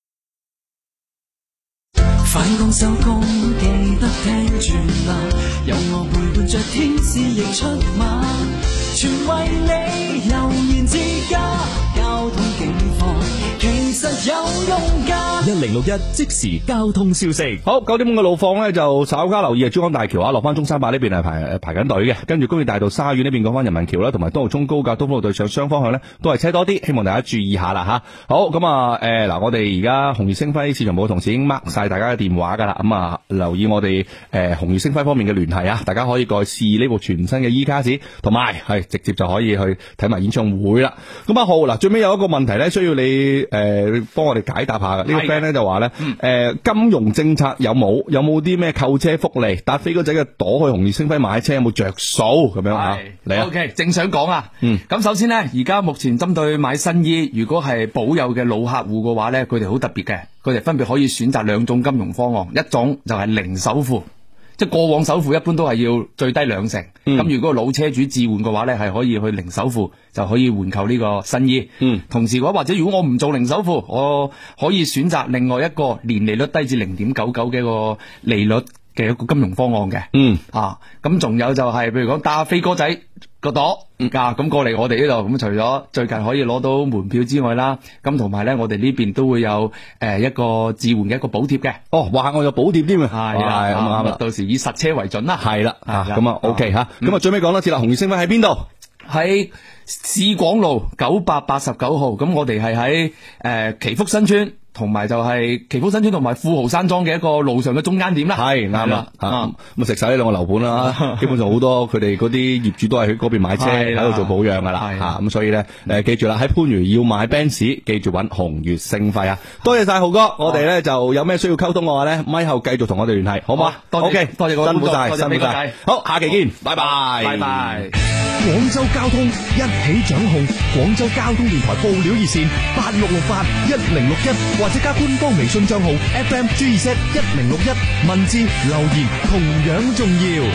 返工收工記得聽住啦，有我陪伴着天使亦出馬，全為你悠然自家，交通警況其實有用㗎。 1061即時交通消息。 好，9點5嘅路況呢，就稍加留意珠江大橋落翻中山八呢邊係排緊隊嘅，跟住工業大道沙苑呢邊講翻人民橋啦，同埋東濠涌高架東風路對上雙方向呢，都係車多啲，希望大家注意下啦吓。好，咁嗱，我哋而家紅月星輝市場部嘅同事已經 mark 晒大家嘅電話噶啦，咁留意我哋紅月星輝方面嘅聯繫啊，大家可以過去試呢部全新嘅 E 卡士，同埋係直接就可以去睇埋演唱會啦。咁好嗱，最尾有一個問題呢，需要你幫我哋解答下嘅。呢個 friend 呢就話呢，金融政策有冇啲咩購車福利？搭飛哥仔嘅朵去紅月星輝買車有冇着數咁樣啊？嚟啊 ，OK， 正想講啊。咁首先呢，而家目前針對買新衣，如果係保有嘅老客戶嘅話呢，佢哋好特別嘅，佢哋分別可以選擇2種金融方案，一種就係零首付。即係過往首付一般都係要最低2成，咁如果老車主置換嘅話呢，係可以去零首付就可以換購呢個新衣。同時嘅話，或者如果我唔做零首付，我可以選擇另外一個年利率低至 0.99 嘅一個利率嘅一個金融方案嘅。咁仲有就係譬如講搭飛哥仔個朵咁過嚟我哋呢度，咁除咗最近可以攞到門票之外啦，咁同埋咧我哋呢邊都會有一個置換嘅一個補貼嘅。 哇，我有補貼添啊！係啦，咁啱啦， 到時以實車為準啦。 係啦，咁OK 吓，咁最尾講多次啦，紅月星輝喺邊度？ 喺市廣路989號，咁我哋係喺祈福新村。同埋就係祈福新村同埋富豪山莊嘅一個路上嘅中間點啦，係啱啦， 咁食晒呢兩個樓盤啦，基本上好多佢哋嗰啲業主都係去嗰邊買車喺度做保養噶啦，咁所以咧記住啦，喺番禺要買 Benz， 記住揾紅月星輝啊！多謝晒浩哥，我哋咧就有咩需要溝通嘅話咧，咪後繼續同我哋聯繫，好嘛？OK，多謝辛苦晒，辛苦晒，好，下期見，拜拜，拜拜。 廣州交通一起掌控，廣州交通電台報料熱線86681061，或者加官方微信賬號 FMGZ1061，文字留言同樣重要。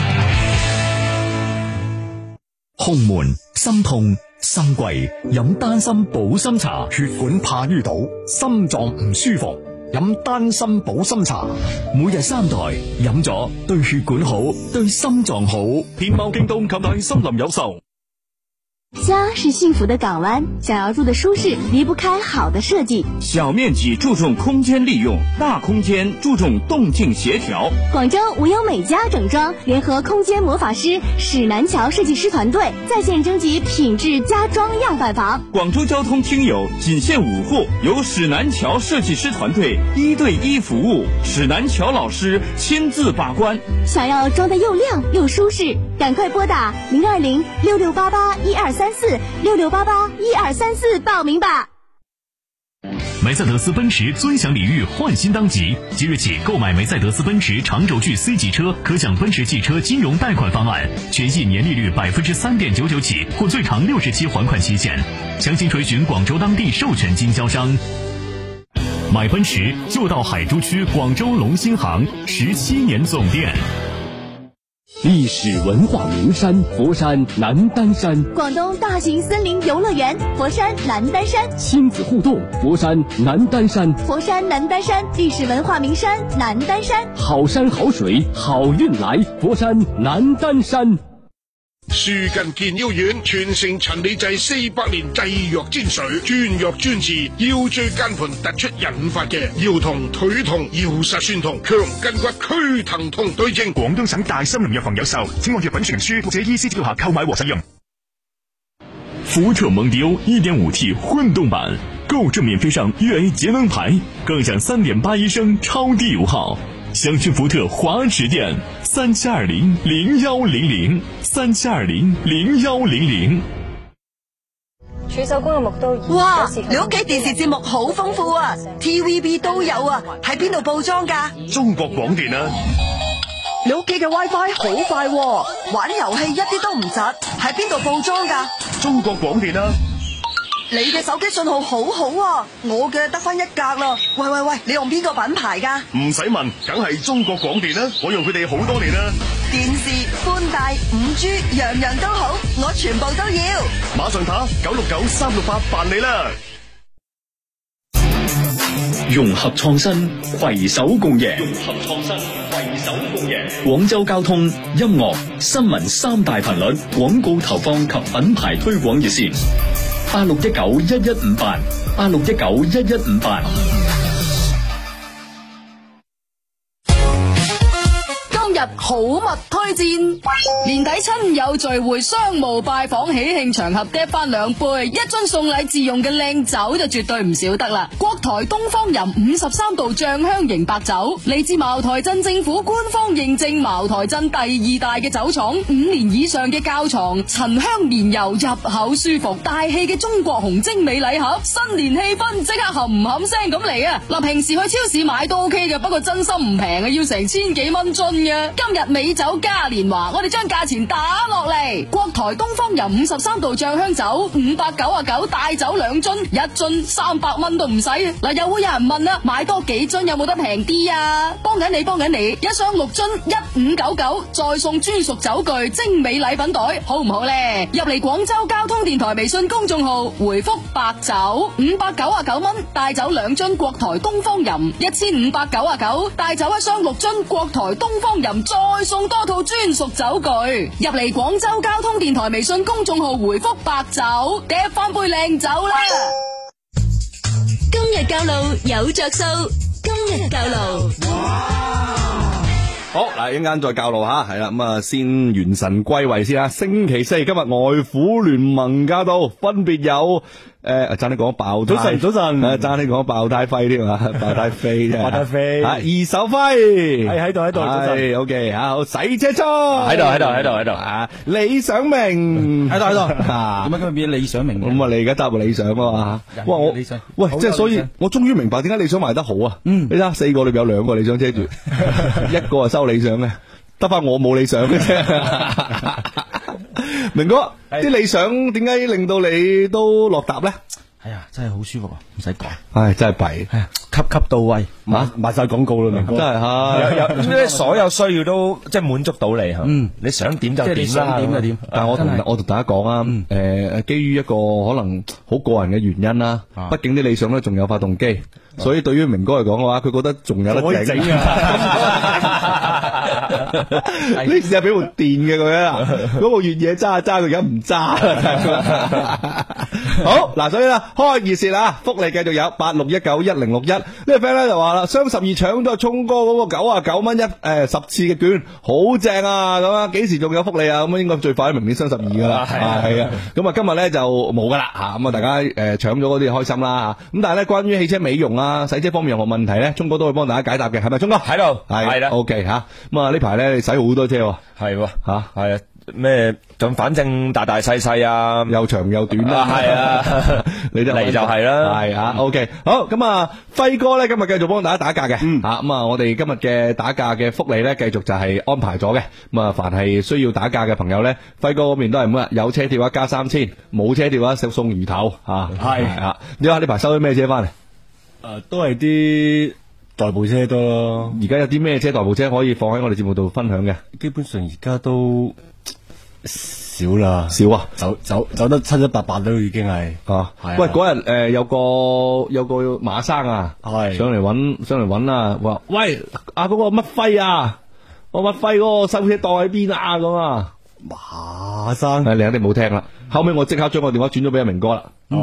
胸悶、心痛、心悸，飲丹參保心茶，血管怕淤堵，心臟唔舒服，飲丹參保心茶，每日3袋，飲咗對血管好，對心臟好。天貓京東購買森林有售。 家是幸福的港湾，想要住的舒适，离不开好的设计。 小面积注重空间利用，大空间注重动静协调。 广州无忧美家整装联合空间魔法师史南桥设计师团队在线征集品质家装样板房。 广州交通听友仅限5户，由史南桥设计师团队1对1服务，史南桥老师亲自把关。 想要装得又亮又舒适，赶快拨打020-6688-1234，6688-1234报名吧。 梅赛德斯奔驰尊享礼遇换新当即，即日起购买梅赛德斯奔驰长轴距 C 级车，可享奔驰汽车金融贷款方案，全系年利率 3.99% 起，或最长60期还款期限。详情垂询广州当地授权经销商。买奔驰就到海珠区广州龙兴行17年总店。 历史文化名山佛山南丹山， 广东大型森林游乐园佛山南丹山， 亲子互动佛山南丹山， 佛山南丹山历史文化名山南丹山， 好山好水好运来，佛山南丹山。 樹近健腰丸傳承陳李濟400年製藥精髓，專藥專治腰椎間盤突出引發嘅腰痛、腿痛、腰膝酸痛、強筋骨、驅疼痛對症。 廣東省大森林藥房有售，請按藥品說明書或者醫師指導下購買和使用。福特蒙迪歐 1.5T 混動版，購證免費上粵 A 節能牌，更享3.81升超低油耗。詳詢福特華池店37200100，37200100。 儲手工嘅木刀。 哇！你屋企電視節目好豐富啊 ，TVB 都有啊，喺邊度報裝㗎？ 中國廣電啊！ 你屋企嘅 WiFi 好快喎，玩遊戲一啲都唔窒，喺邊度報裝㗎？ 中國廣電啊！ 你嘅手機信號好好啊，我嘅得翻1格啦。喂，你用邊個品牌㗎？ 唔使問，梗係中國廣電啦，我用佢哋好多年啦。 電視、寬帶、5G，樣樣都好，我全部都要。 馬上打969-368辦理啦。 融合創新，攜手共贏。廣州交通、音樂、新聞3大頻率廣告投放及品牌推廣熱線：86191158，86191158。 好物推薦，年底親友聚會、商務拜訪、喜慶場合，嗒翻2杯，一樽送禮自用嘅靚酒就絕對唔少得啦。國台東方吟53度醬香型白酒，嚟自茅台鎮政府官方認證，茅台鎮第2大嘅酒廠，5年以上嘅窖藏，陳香綿柔，入口舒服，大氣嘅中國紅精美禮盒，新年氣氛即刻冚冚聲咁嚟啊！嗱，平時去超市買都 OK 嘅，不過真心唔平啊，要成1000幾蚊樽嘅。今日美酒嘉年華，我哋將價錢打落嚟。國台東方吟53度醬香酒599，大酒2樽，一樽300蚊都唔使。嗱，又會有人問啦，買多幾樽有冇得平啲啊？幫緊你，一箱6樽1599，再送專屬酒具精美禮品袋，好唔好呢？入嚟廣州交通電台微信公眾號回覆白酒599蚊，大酒2樽，國台東方吟1599，大酒一箱6樽，國台東方吟再送多套專屬酒具。入嚟廣州交通電台微信公眾號回覆白酒，嗒翻杯靚酒啦！ 今日教路有着數，今日教路。 好嗱，一陣間再教路吓，係啦，咁啊先元神歸位先啦。星期4今日外虎聯盟駕到，分別有爭你講爆胎，早晨，爭你講爆胎輝添啊，爆胎飛啫，爆胎飛，二手輝喺度，係 OK 啊，好，洗車倉喺度啊，李想明喺度，點解今日變李想明？咁啊，你而家答理想啊嘛，哇我理想，喂，即係所以我終於明白點解理想賣得好啊，你睇下4個裏邊有2個理想車住，一個係收理想嘅，得翻我冇理想嘅啫。明哥，啲理想點解令到你都落搭咧？ 係啊，真係好舒服啊，唔使講。 唉，真係弊， 係啊，級到位，賣晒廣告啦，明哥。 真係有所有需要都即係滿足到你，你想點就點啦，點就點。 但係我同大家講啊，基於一個可能好個人嘅原因啦，畢竟啲理想咧仲有發動機，所以對於明哥嚟講嘅話，佢覺得仲有得整啊。你試下俾部電嘅佢啊，嗰部越野揸佢而家唔揸。好嗱，所以啦，開熱線啦，福利繼續有86191061。呢個 friend 咧就話啦，雙12搶咗聰哥嗰個99蚊10次嘅券，好正啊！咁啊，幾時仲有福利啊？咁應該最快明年雙12噶啦，係啊。咁啊，今日咧就冇噶啦吓，咁啊大家搶咗嗰啲開心啦吓。咁但係咧，關於汽車美容啊、洗車方面任何問題咧，聰哥都會幫大家解答嘅，係咪？聰哥喺度，係啦，OK 吓。咁啊呢排咧你洗好多車， 係吓，係啊。咩咁反正大大細細啊， 又長又短啦， 係啊， 你就嚟就係啦， 係啊 OK 好，咁啊輝哥咧今日繼續幫大家打價嘅，咁啊我哋今日嘅打價嘅福利咧繼續就係安排咗嘅，咁啊凡係需要打價嘅朋友咧，輝哥嗰邊都係咁啊，有車貼加3000，冇車貼送魚頭吓，係啊，你話呢排收啲咩車翻嚟？ 都係啲代步車多咯。 而家有啲咩車代步車可以放喺我哋節目度分享嘅？ 基本上而家都少啦， 少啊， 走得七七八八都已經係啊。 係啊。 喂，嗰日有個馬生啊， 係上嚟揾啊，話喂嗰個乜輝啊，我乜輝嗰個收車檔喺邊啊咁啊。 馬生， 你肯定冇聽啦。後尾我即刻將個電話轉咗俾阿明哥啦。 唔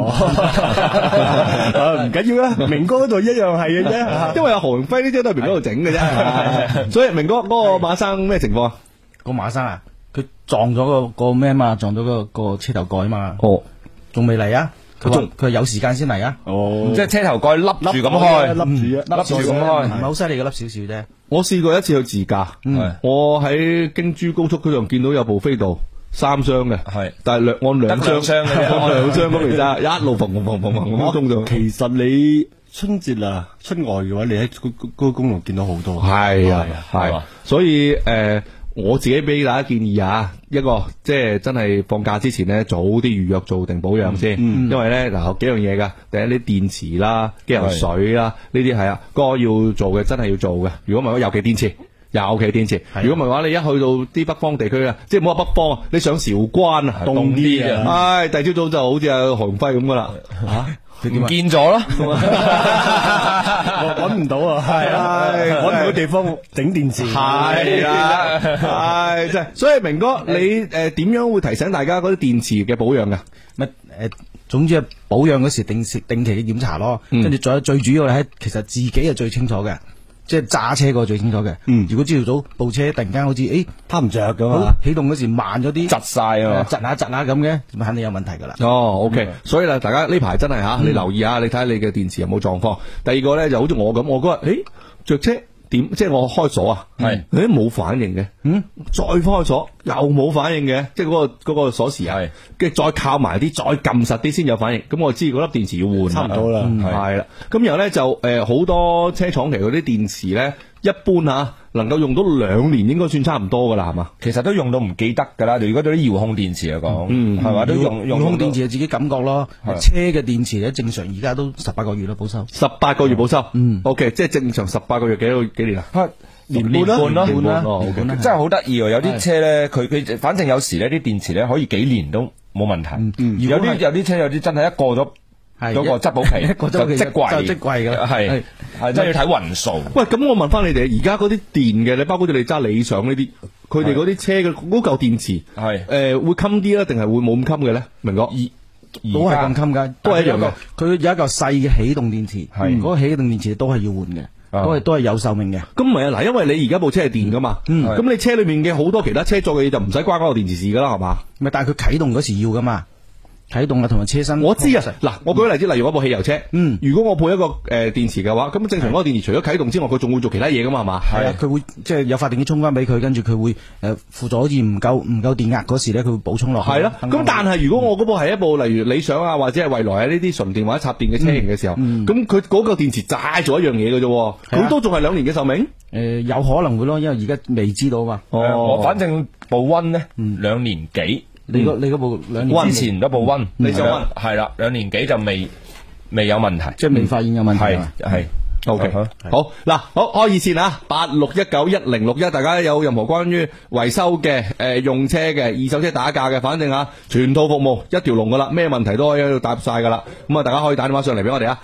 緊要啦，明哥嗰度一樣係嘅啫。 因為阿何榮輝呢啲都係明哥度整嘅啫。所以明哥嗰個馬生咩情況啊？ 個馬生啊，佢撞咗個咩嘛？撞咗個車頭蓋啊嘛。 哦， 仲未嚟啊？佢有時間先嚟啊。 哦，即係車頭蓋笠住咁開， 笠住咁開， 唔係好犀利嘅，笠少少啫。 我試過一次去自駕，我喺京珠高速嗰度見到有部飛度3箱嘅，係，但係按兩箱嘅，按兩箱咁嚟咋，一路嘭咁衝上。 其實你春節啊，出外嘅話，你喺嗰個公路見到好多。 係啊，係，所以我自己俾大家建議啊，一個即係真係放假之前咧，早啲預約做定保養先，因為咧嗱有幾樣嘢噶，第一啲電池啦、機油水啦，呢啲係啊，該要做嘅真係要做嘅。如果唔係，尤其電池，如果唔係話，你一去到啲北方地區啊，即係唔好話北方啊，你上韶關啊，凍啲啊，唉，第二朝早就好似阿何榮輝咁噶啦， 唔見咗咯， 我揾唔到啊，係啊，揾唔到地方整電池， 係啊，係即係，所以明哥你點樣會提醒大家嗰啲電池嘅保養噶？ 乜總之係保養嗰時定期嘅檢查咯，跟住再最主要係其實自己係最清楚嘅。即係揸車個最清楚嘅。如果朝早部車突然間好似撻唔着咁啊， 起動嗰時慢咗啲， 窒晒啊， 窒下咁嘅，咁肯定有問題噶啦。 OK，所以啦，大家呢排真係你留意下，你睇下你嘅電池有冇狀況。第二個咧就好似我咁，我嗰日着車點，即係我開鎖啊，冇反應嘅，再開鎖又冇反應嘅，即係嗰個鎖匙啊，跟住再靠埋啲，再撳實啲先有反應。咁我知嗰粒電池要換， 差唔多啦， 係啦。咁然後咧就好多車廠其實嗰啲電池咧，一般能夠用到2年，應該算差唔多噶啦，係嘛？ 其實都用到唔記得噶啦。如果對啲遙控電池嚟講，係嘛都用遙控電池係自己感覺咯。車嘅電池咧，正常而家都18個月啦，保修。 18個月保修，OK，即係正常18個月幾年啊？ 年半咯，真係好得意喎！有啲車咧，佢反正有時咧啲電池咧可以幾年都冇問題。有啲車有啲真係一過咗嗰個質保期，就即貴噶啦，係真係要睇運數。 喂，咁我問翻你哋，而家嗰啲電嘅，你包括你揸理想呢啲，佢哋嗰啲車嘅嗰嚿電池係會襟啲啦，定係會冇咁襟嘅咧？明哥， 都係咁襟噶， 都係一樣嘅。 佢有一嚿細嘅起動電池，嗰個起動電池都係要換嘅。都係有壽命嘅。 咁唔係啊，嗱，因為你而家部車係電噶嘛，咁你車裏面嘅好多其他車做嘅嘢就唔使關嗰個電池事噶啦，係嘛？ 咪但係佢啟動嗰時要噶嘛，啟動啊同埋車身。 我知啊，嗱，我舉個例子，例如我部汽油車，如果我配一個電池嘅話，咁正常嗰個電池除咗啟動之外，佢仲會做其他嘢噶嘛，係嘛？ 係啊，佢會即係有發電機充翻俾佢，跟住佢會輔助好似唔夠電壓嗰時咧，佢會補充落去。 係咯，咁但係如果我嗰部係一部例如理想啊或者係蔚來啊呢啲純電或者插電嘅車型嘅時候，咁佢嗰個電池齋做一樣嘢嘅啫，佢都仲係2年嘅壽命。 有可能會咯，因為而家未知道嘛。 我反正部溫咧2年幾。 你嗰部2年之前嗰部溫，你就溫係啦，2年幾就未有問題， 即係未發現有問題。 係 OK，好嗱，好開熱線啊，86191061，大家有任何關於維修嘅用車嘅二手車打價嘅，反正全套服務一條龍噶啦，咩問題都可以喺度答晒噶啦。咁啊，大家可以打電話上嚟俾我哋啊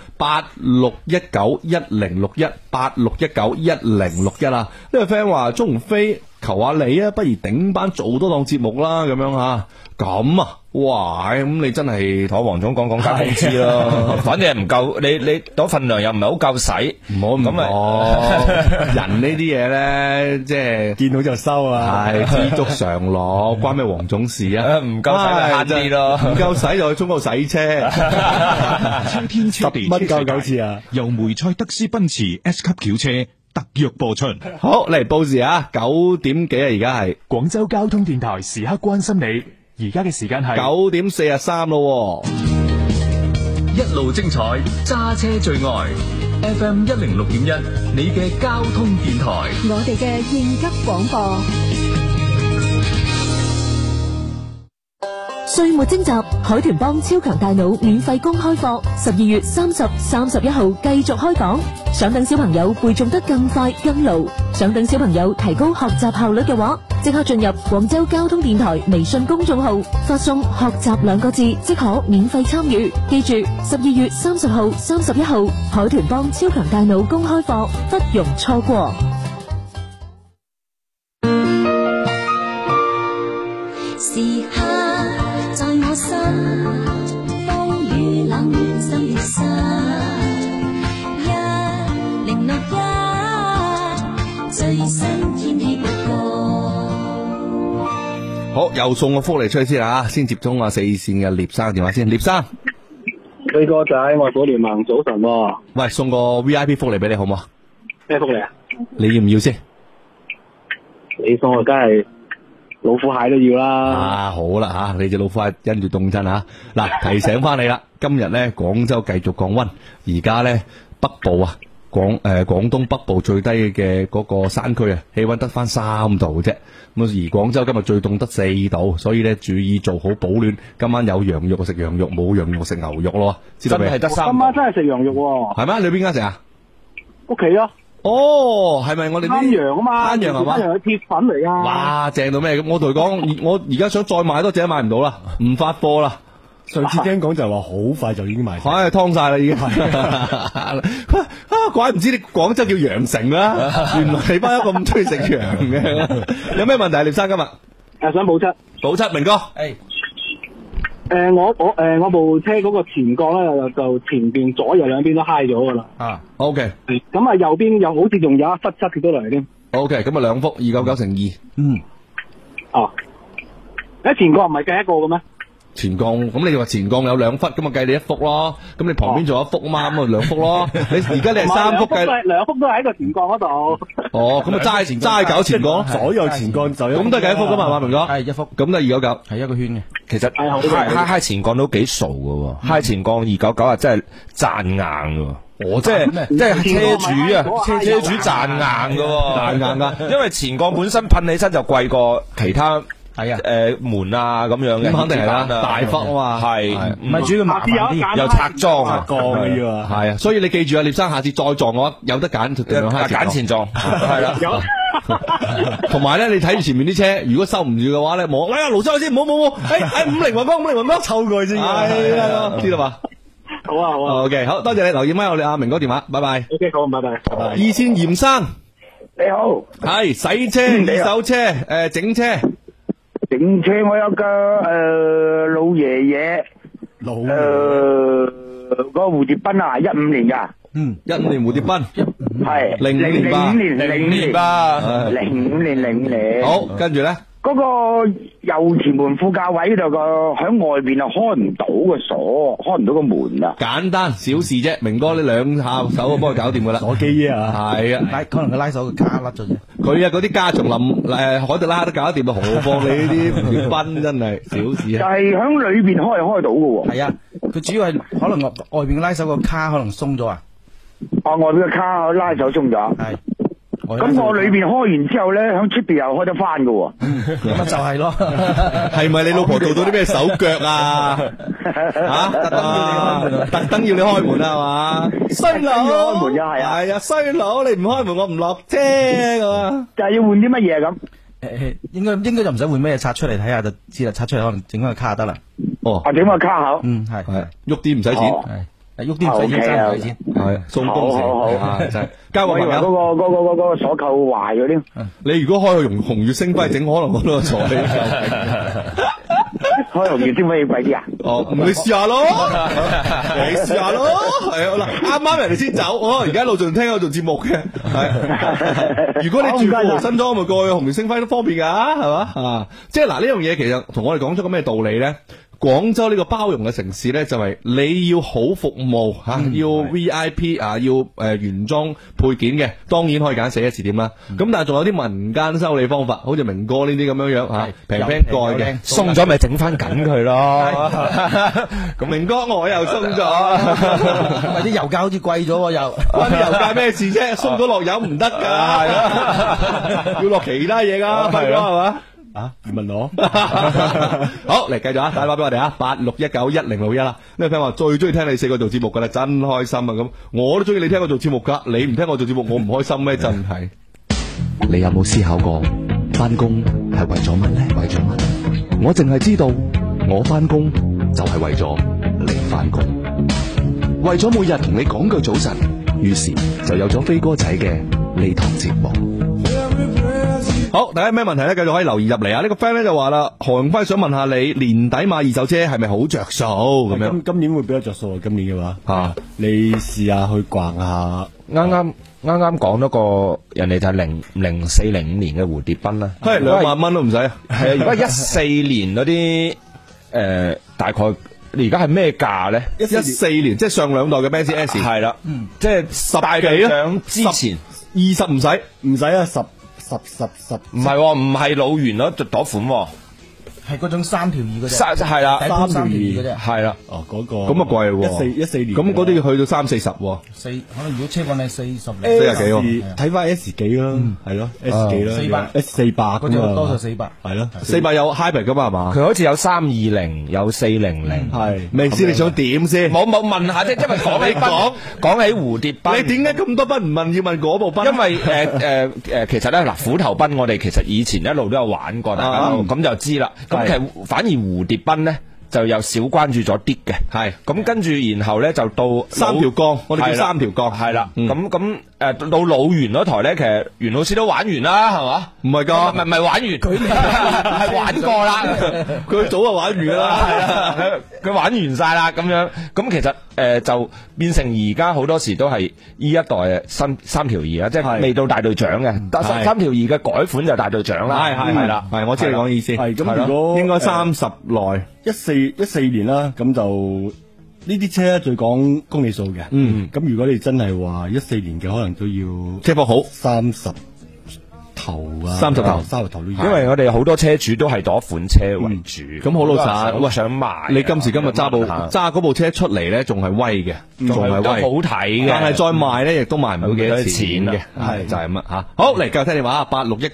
，86191061，86191061啊。呢個 friend 話鍾鴻飛求下你啊，不如頂班做多檔節目啦，咁樣吓。咁啊，哇！咁你真係同黃總講加工資咯，反正唔夠，你嗰份量又唔係好夠使， 唔好咁人呢啲嘢咧，即係見到就收啊，係知足常樂，關咩黃總事啊？ 唔夠使咪慳啲咯， 唔夠使就去中國洗車。 超天超地 10蚊夠9次啊！ 由梅賽德斯奔馳 S 級轎車特約播出。 好，嚟報時啊，9點幾啊，而家係廣州交通電台時刻關心你。而家嘅時間係 9點43咯， 一路精彩，揸車最愛 FM 106.1，你嘅交通電台， 我哋嘅應急廣播。 歲末徵集海豚幫超強大腦免費公開課，12月30、31號繼續開講。想等小朋友背誦得更快更牢，想等小朋友提高學習效率嘅話，即刻進入廣州交通電台微信公眾號，發送學習2個字即可免費參與。記住12月30號、31號海豚幫超強大腦公開課，不容錯過。 時刻在我心，風雨冷心的心，1061最新天氣報告。 好，又送個福利出去先啊！先接通4線嘅聶生電話先，聶生。 你個仔外父聯盟早晨喎。 喂，送個 VIP 福利俾你好唔好？ 咩福利啊？ 你要唔要先？ 你送我梗係老虎蟹都要啦。 啊，好啦吓，你隻老虎蟹因住凍親吓。嗱，提醒翻你啦，今日咧廣州繼續降溫，而家咧北部啊，廣東北部最低嘅嗰個山區啊，氣溫得翻3度啫。咁而廣州今日最凍得4度，所以咧注意做好保暖。今晚有羊肉食羊肉，冇羊肉食牛肉咯，知道未？ 真係得3度。今晚真係食羊肉喎。 係咩？你邊間食啊？ 屋企啊。 哦，係咪我哋灘羊啊嘛？ 灘羊係嘛？ 灘羊嘅鐵粉嚟噶。 哇，正到咩？咁我同你講，我而家想再買多隻買唔到啦，唔發貨啦。 上次聽講就話好快就已經賣晒， 唉，劏晒啦已經。怪唔知你廣州叫羊城啦，原來你班友咁中意食羊嘅。有咩問題，聶生今日？ 想補漆。 補漆，明哥。 我部車嗰個前槓咧就前邊左右兩邊都揩咗噶啦。 啊 ，OK。 咁啊右邊又好似仲有一忽漆跌咗嚟添。 OK，咁啊2幅299乘2。 嗯。哦。前槓唔係計一個嘅咩？ 前槓，咁你話前槓有2忽，咁啊計你1幅咯。咁你旁邊仲有1幅啊嘛，咁啊2幅咯。你而家你係3幅計。 2幅都喺個前槓嗰度。 哦，咁啊齋搞前槓， 左右前槓就咁都係計1幅噶嘛，明哥？ 係1幅， 咁都係299， 係一個圈嘅。 其實揩前槓都幾傻噶，揩前槓299啊，真係賺硬噶。我即係車主啊，車主賺硬噶，賺硬噶。因為前槓本身噴起身就貴過其他。係啊，門啊咁樣嘅， 咁肯定係啦，大忽啊嘛， 係， 唔係主要麻煩啲， 又拆裝啊， 嘅要係啊，所以你記住啊，聶生下次再撞嘅話，有得揀， 揀前撞，係啦， 同埋咧，你睇住前面啲車，如果收唔住嘅話咧，冇，哎呀，盧生先，唔好，誒，50雲光， 抽過去先， 係啦，知道嘛？ 好啊 ，OK，好多謝你留意翻我哋阿明哥電話，拜拜。 OK， 好，拜拜。 二線嚴生， 你好， 係洗車、二手車，整車。 整車我有個老爺爺，個蝴蝶賓啊，15年噶 ，15年蝴蝶賓， 係 05 年， 好，跟住咧。 嗰個右前門副駕位度個喺外邊啊，開唔到個鎖，開唔到個門啊！ 簡單小事啫，明哥你2下手幫佢搞掂噶啦。 鎖機啊， 係啊， 可能佢拉手個卡甩咗啫。 佢啊嗰啲加長林海特拉都搞得掂啊，何況你呢啲蝴蝶賓真係小事啊！ 就係喺裏邊開到嘅喎。 係啊，佢主要係可能外邊拉手個卡可能鬆咗啊。 外邊個卡拉手鬆咗。係。咁我裏邊開完之後咧，響出邊又開得翻噶， 咁啊就係咯。 係咪你老婆做到啲咩手腳啊？特登要你開門啊嘛？衰佬開門又係啊？係啊，衰佬你唔開門我唔落車噶。 就係要換啲乜嘢咁？ 應該就唔使換咩，拆出嚟睇下就知啦。拆出嚟可能整翻個卡得啦。 哦，整個卡口。 係喐啲唔使錢。 喐啲唔使錢，真係錢， 係送工時， 好， 就係交個朋友。 嗰個鎖扣壞咗添。 你如果開個紅月星輝整，可能我都坐你。 開紅月星輝貴啲啊？ 哦，你試下咯，你試下咯，係啊嗱，啱啱人哋先走，我而家一路仲聽我做節目嘅，係。如果你住富豪新莊，咪過去紅月星輝都方便噶，係嘛啊？即係嗱呢樣嘢，其實同我哋講出個咩道理咧？廣州呢個包容嘅城市呢，就係你要好服務吓，要 VIP 啊，要原裝配件嘅，當然可以揀4S店啦。咁但係仲有啲民間修理方法，好似明哥呢啲咁樣樣吓，平蓋嘅， 鬆咗咪整翻緊佢咯。 咁明哥我又鬆咗， 咪啲油價好似貴咗又， 關啲油價咩事啫？鬆咗落油唔得噶，要落其他嘢噶，輝哥係嘛？ 啊？你問我？ 好，嚟繼續啊，打電話俾我哋啊，86191061啦。呢個 friend 話最中意聽你四個做節目噶啦，真開心啊！咁我都中意你聽我做節目噶，你唔聽我做節目，我唔開心咩？真係。 你有冇思考過翻工係為咗乜呢？為咗乜？我淨係知道我翻工就係為咗你翻工，為咗每日同你講句早晨，於是就有咗飛哥仔嘅呢堂節目。 好，大家咩問題咧？繼續可以留言入嚟啊！呢個 friend 咧就話啦，何永輝想問下你年底買二手車係咪好着數咁樣？ 今年會比較着數啊！今年嘅話你試下去逛下。 啱啱講咗個人哋就係0405年嘅蝴蝶賓啦， 係2萬蚊都唔使。係啊， 而家14年嗰啲大概你而家係咩價咧 ？14年即係上兩代嘅 Benz S 係啦，即係 10幾啊？ 之前 20唔使啊10， 唔係唔係老元嗰款。 係嗰種3條2嗰隻， 係啦 3條2嗰隻， 係啦。 哦，嗰個咁啊貴喎 ，14年， 咁嗰啲要去到30-40喎。 可能如果車況係40幾喎， 睇翻 S 幾啦，係咯 S 幾啦，S400 嗰隻多數400， 係咯 ，400有 hybrid 噶嘛係嘛？ 佢好似有320，有400， 係。 明師你想點先？ 冇問下啫，因為講起蝴蝶賓， 你點解咁多賓唔問，要問嗰部賓？ 因為其實咧嗱，虎頭賓我哋其實以前一路都有玩過，大家咁就知啦。咁其實反而蝴蝶賓咧就有少關注咗啲嘅，係咁跟住然後咧就到 3條槓，我哋叫3條槓， 係啦，咁到老袁嗰台咧，其實袁老師都玩完啦，係嘛？ 唔係噶， 唔係玩完，佢係玩過啦， 佢早就玩完啦， 係啦，佢玩完晒啦，咁樣咁其實就變成而家好多時都係呢一代3條2啦，即係未到大隊長嘅，但3條2嘅改款就大隊長啦，係啦， 係我知你講意思， 係咁如果應該30內 14年啦，咁就。呢啲車最講公里數嘅，咁如果你真係話14年嘅，可能都要車況好 30頭啊 ，30頭都要。 因為我哋好多車主都係攞款車為主， 咁好老實， 喂想買， 你今時今日揸嗰部車出嚟咧，仲係威嘅，仲係威， 好睇嘅， 但係再賣咧，亦都賣唔到幾多錢嘅，係就係乜吓？好嚟，繼續聽電話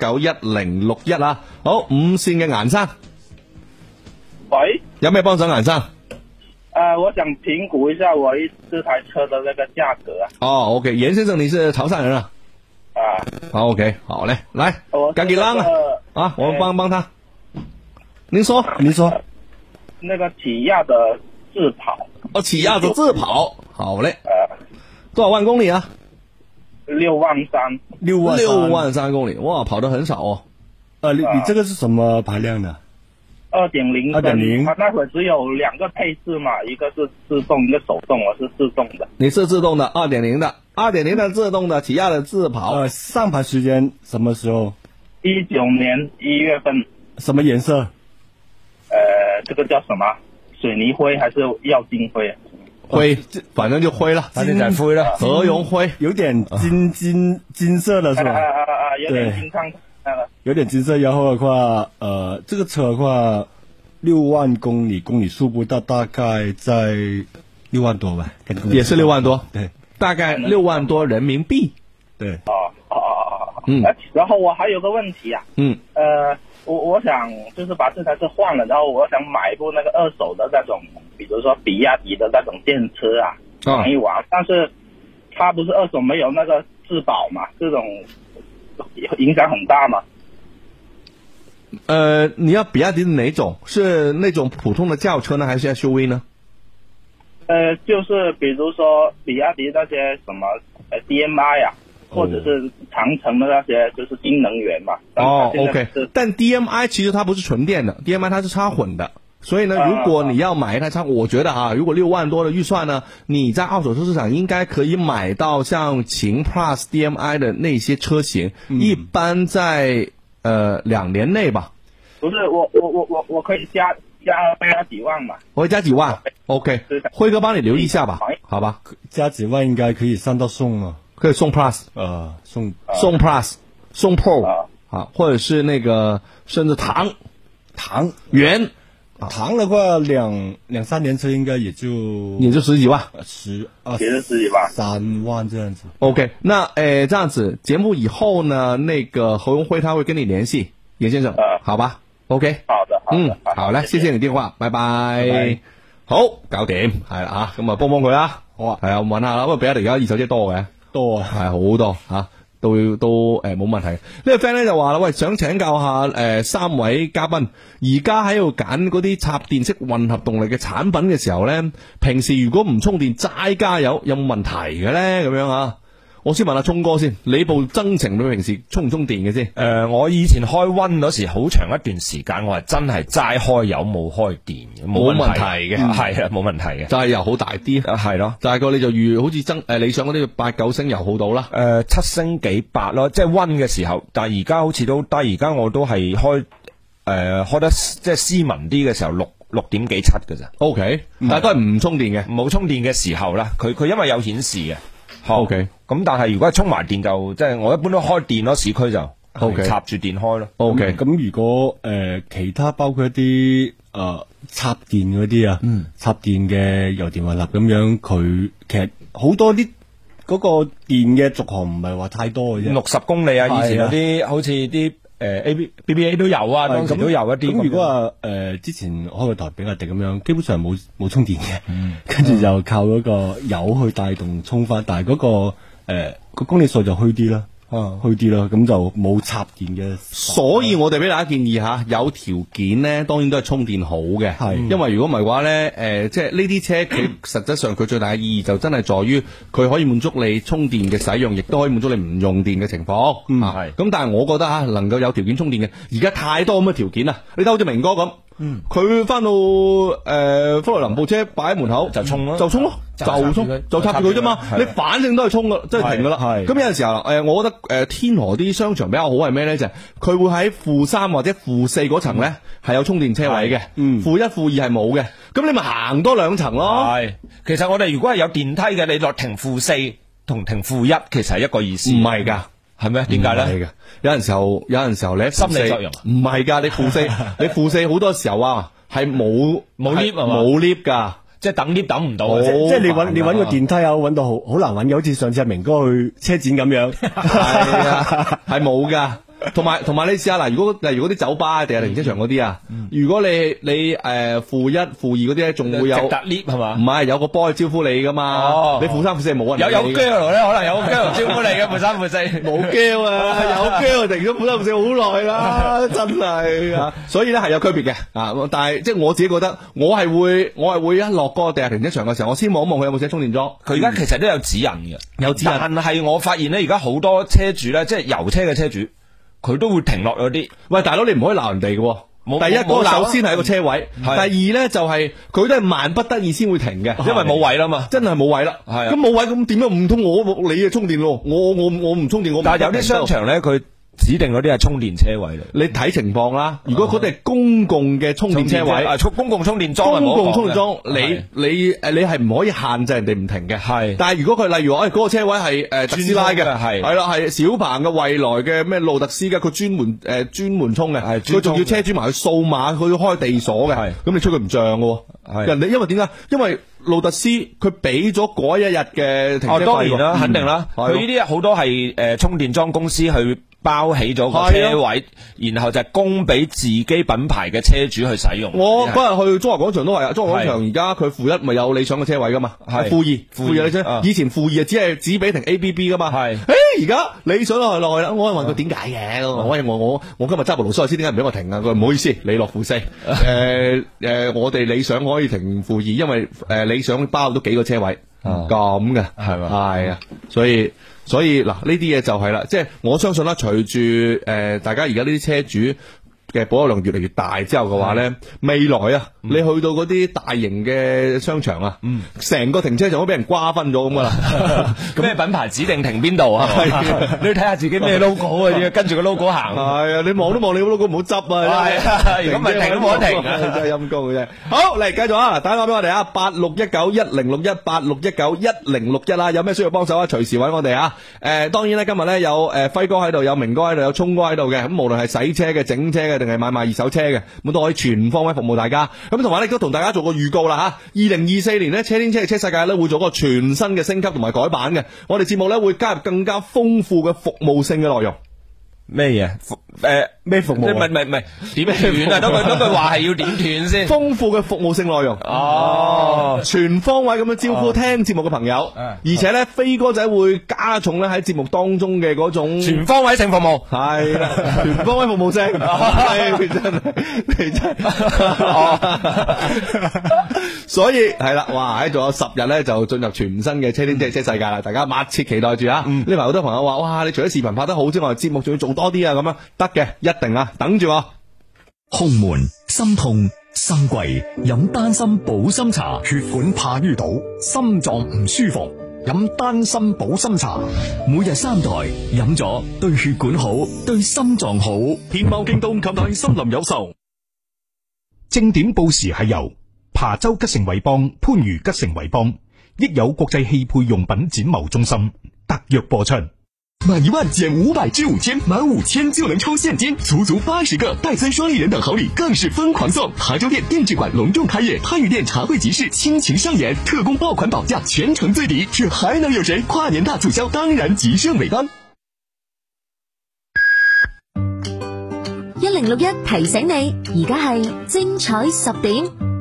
86191061啊，好5線嘅顏生， 喂， 有咩幫手顏生？ 我想評估一下我這台車的那個價格啊。 哦 ，OK， 嚴先生，你是潮汕人啊？好 ，OK， 好嘞，來，趕緊讓啊，我們幫他。您說。 那個起亞的智跑。 哦，起亞的智跑，好嘞。多少萬公里啊 ？63000。 6萬3公里，哇，跑得很少哦。 你這個是什麼排量的 ？2.0，它那會只有2個配置嘛，一個是自動，一個手動，我是自動的。 你是自動的，2.0的自動的起亞的智跑。 上牌時間什麼時候 ？19年1月份。 什麼顏色？ 這個叫什麼？水泥灰還是耀金灰？ 灰，反正就灰了， 金仔灰了， 何榮灰， 有點金色的是吧？ 有點金燙。 有點金色，然後的話，這個車的話，6萬公里數不到，大概在6萬多吧， 也是6萬多， 對， 大概6萬多人民幣， 對， 然後我還有個問題啊，我想就是把這台車換了，然後我想買一部那個二手的那種，比如說比亞迪的那種電車啊，玩一玩，但是它不是二手沒有那個質保嘛，這種。影響很大嗎？ 你要比亞迪的哪種？是那種普通的轎車呢，還是 SUV 呢？ 就是比如說比亞迪那些什麼DMI 啊，或者是長城的那些，就是新能源嘛。 OK， 但 DMI 其實它不是純電的 ，DMI 它是插混的。所以呢，如果你要買一台車，我覺得如果6萬多的預算呢，你在二手車市場應該可以買到像秦 Plus DMI 的那些車型，一般在2年內吧。 不是，我可以加幾萬嘛？ 我會加幾萬 ，OK， 輝哥幫你留意一下吧，好吧？ 加幾萬應該可以上到送啊， 可以送 Plus， 送 Plus， 送 Pro 或者是那個甚至唐元。 唐的話兩三年車應該也就 10幾萬 ，10幾萬 ，3萬這樣子。 OK， 那這樣子節目以後呢，那個何榮輝他會跟你聯繫，嚴先生，好吧 OK， 好的， 好嘞，謝謝你電話，拜拜。好，搞掂，係啦吓，咁啊幫佢啦，好啊，係啊，問下啦，咁啊比亞迪而家二手車多嘅，多啊，係好多吓。都冇問題。呢個 friend 咧就話啦，喂，想請教下三位嘉賓，而家喺度揀嗰啲插電式混合動力嘅產品嘅時候咧，平時如果唔充電齋加油，有冇問題嘅咧？咁樣啊？我先問下聰哥先，你部增程你平時充唔充電嘅先？ 我以前開溫嗰時好長一段時間，我係真係齋開油冇開電嘅，冇問題嘅，係啊，冇問題嘅， 就係油耗大啲，係咯，大概你就預好似理想嗰啲8-9升油耗到啦 ，7升幾8咯，即係溫嘅時候，但係而家好似都低，而家我都係開得即係斯文啲嘅時候6點幾7嘅咋 ，OK， 但係都係唔充電嘅， 冇充電嘅時候啦，佢因為有顯示嘅。 OK， 咁但係如果係充埋電就即係我一般都開電咯，市區就 OK 插住電開咯。 OK， 咁如果其他包括一啲插電嗰啲啊，插電嘅油電混合咁樣，佢其實好多啲嗰個電嘅續航唔係話太多嘅啫 ，60公里啊，以前有啲好似啲BBA 都有啊，當時都有一啲。 咁如果話之前開個台比亞迪咁樣，基本上冇充電嘅，跟住就靠嗰個油去帶動充翻，但係嗰個公里數就虛啲啦。虛啲啦，咁就冇插電嘅。 所以我哋俾大家建議吓，有條件咧，當然都係充電好嘅。係，因為如果唔係嘅話咧，即係呢啲車佢實質上佢最大嘅意義就真係在於佢可以滿足你充電嘅使用，亦都可以滿足你唔用電嘅情況。係。咁但係我覺得吓，能夠有條件充電嘅，而家太多咁嘅條件啦。你睇好似明哥咁。佢翻到福來林部車擺喺門口就充咯， 就充咯，就插住佢啫嘛。你反正都係充噶，即係停噶啦。咁有陣時候我覺得天河啲商場比較好係咩咧？就係佢會喺負3或者負4嗰層咧係有充電車位嘅，負1、負2係冇嘅。咁你咪行多2層咯。 係，其實我哋如果係有電梯嘅，你落停負4同停負1，其實係一個意思。 唔係㗎。 係咩？點解咧？ 有陣時候你喺心理作用唔係㗎，你負4好多時候啊係冇 lift 冇 lift 㗎， 即係等 lift 等唔到， 即係你揾個電梯啊，揾到好難揾嘅，好似上次阿明哥去車展咁樣， 係啊，係冇㗎。同埋你試下嗱，如果啲酒吧定係停車場嗰啲啊，如果你負1、負2嗰啲咧，仲會有直達 lift 係嘛？ 唔係有個波去招呼你噶嘛？你負3、負4冇人有 girl 咧，可能有 girl 招呼你嘅負3、負4 冇 girl 啊，有 girl 停咗負3、負4好耐啦，真係。所以咧係有區別嘅啊，但係即係我自己覺得，我係會一落嗰個地下停車場嘅時候，我先望一望佢有冇寫充電樁。 佢而家其實都有指引嘅， 有指引。 但係我發現咧，而家好多車主咧，即係油車嘅車主。佢都會停落嗰啲， 喂大佬你唔可以鬧人哋嘅。第一個首先係個車位，第二咧就係佢都係萬不得已先會停嘅， 因為冇位啦嘛， 真係冇位啦。咁冇位咁點樣唔通你嘅充電咯？我唔充電我。 但係有啲商場咧佢。指定嗰啲係充電車位嚟， 你睇情況啦。如果嗰啲係公共嘅充電車位， 公共充電樁， 公共充電樁，你係唔可以限制人哋唔停嘅。係，但係如果佢例如話，嗰個車位係特斯拉嘅，係啦，係小鵬嘅、蔚來嘅、咩路特斯嘅，佢專門充嘅，佢仲要車主埋去掃碼，佢要開地鎖嘅，咁你吹佢唔漲嘅。人哋因為點解？因為路特斯佢俾咗嗰一日嘅停車費。 當然啦，肯定啦。佢呢啲好多係充電樁公司去包起咗個車位，然後就供俾自己品牌嘅車主去使用。 我嗰日去中華廣場都係啊，中華廣場而家佢負1咪有理想嘅車位噶嘛，係負2你知，以前負2啊只俾停 ABB 噶嘛，係，而家理想落去啦，我問佢點解嘅，我今日揸部勞斯萊斯點解唔俾我停啊？佢唔好意思，你落負4，我哋理想可以停負2，因為理想包到幾個車位咁嘅，係嘛，係啊，所以嗱呢啲嘢就係啦，即係我相信啦，隨住大家而家呢啲車主嘅保有量越嚟越大之後嘅話咧，未來啊，你去到嗰啲大型嘅商場啊，成個停車場都俾人瓜分咗咁噶啦。 咩品牌指定停邊度啊？你要睇下自己咩 logo 啊，要跟住個 logo 行。 係啊，你望都望你個 logo 唔好執啊。 如果唔係停都冇得停， 真係陰公嘅啫。好，嚟繼續啊，打電話俾我哋啊，8619106186191061啦，有咩需要幫手啊？隨時揾我哋啊。當然咧，今日咧有輝哥喺度，有明哥喺度，有聰哥喺度嘅。咁無論係洗車嘅、整車嘅，定係買賣二手車嘅，咁都可以全方位服務大家。咁同埋咧都同大家做個預告啦吓，2024年呢，車天車地車世界咧會做個全新嘅升級同埋改版嘅。我哋節目咧會加入更加豐富嘅服務性嘅內容。 咩嘢？ 咩服務？ 唔係點斷啊？嗰句話係要點斷先？ 豐富嘅服務性內容全方位咁樣招呼聽節目嘅朋友，而且咧飛哥仔會加重咧喺節目當中嘅嗰種全方位性服務， 係啦，全方位服務性，係真係，所以係啦，哇！仲有10日咧就進入全新嘅車天車世界啦，大家密切期待住啊！呢排好多朋友話，哇！你除咗視頻拍得好之外，節目仲要做多啲啊，咁樣得嘅，一定啊，等住我。 胸悶、心痛、心悸，飲丹參保心茶；血管怕淤堵，心臟唔舒服，飲丹參保心茶。每日3袋，飲咗對血管好，對心臟好。天貓、京東及大森林有售。 正點報時係由琶洲吉盛偉邦、番禺吉盛偉邦、益友國際汽配用品展貿中心特約播出。 滿1萬減500至5000，滿5000就能抽現金，足80個戴森雙立人等好禮，更是瘋狂送。琶洲店定制館隆重開業，番禺店茶會集市傾情上演，特供爆款保價，全城最抵，這還能有誰？跨年大促銷當然吉盛偉邦。 1061提醒你，而家係精彩10點。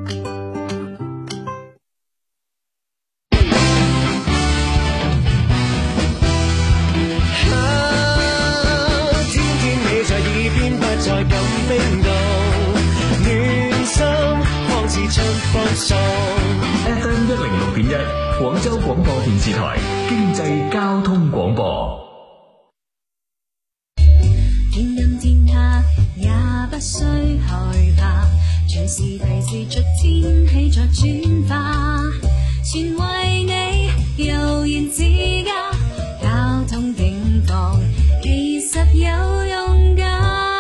FM 106.1廣州廣播電視台經濟交通廣播。 天陰天黑也不需害怕，隨時提示着天氣在轉化，全為你悠然自家，交通警報其實有用㗎。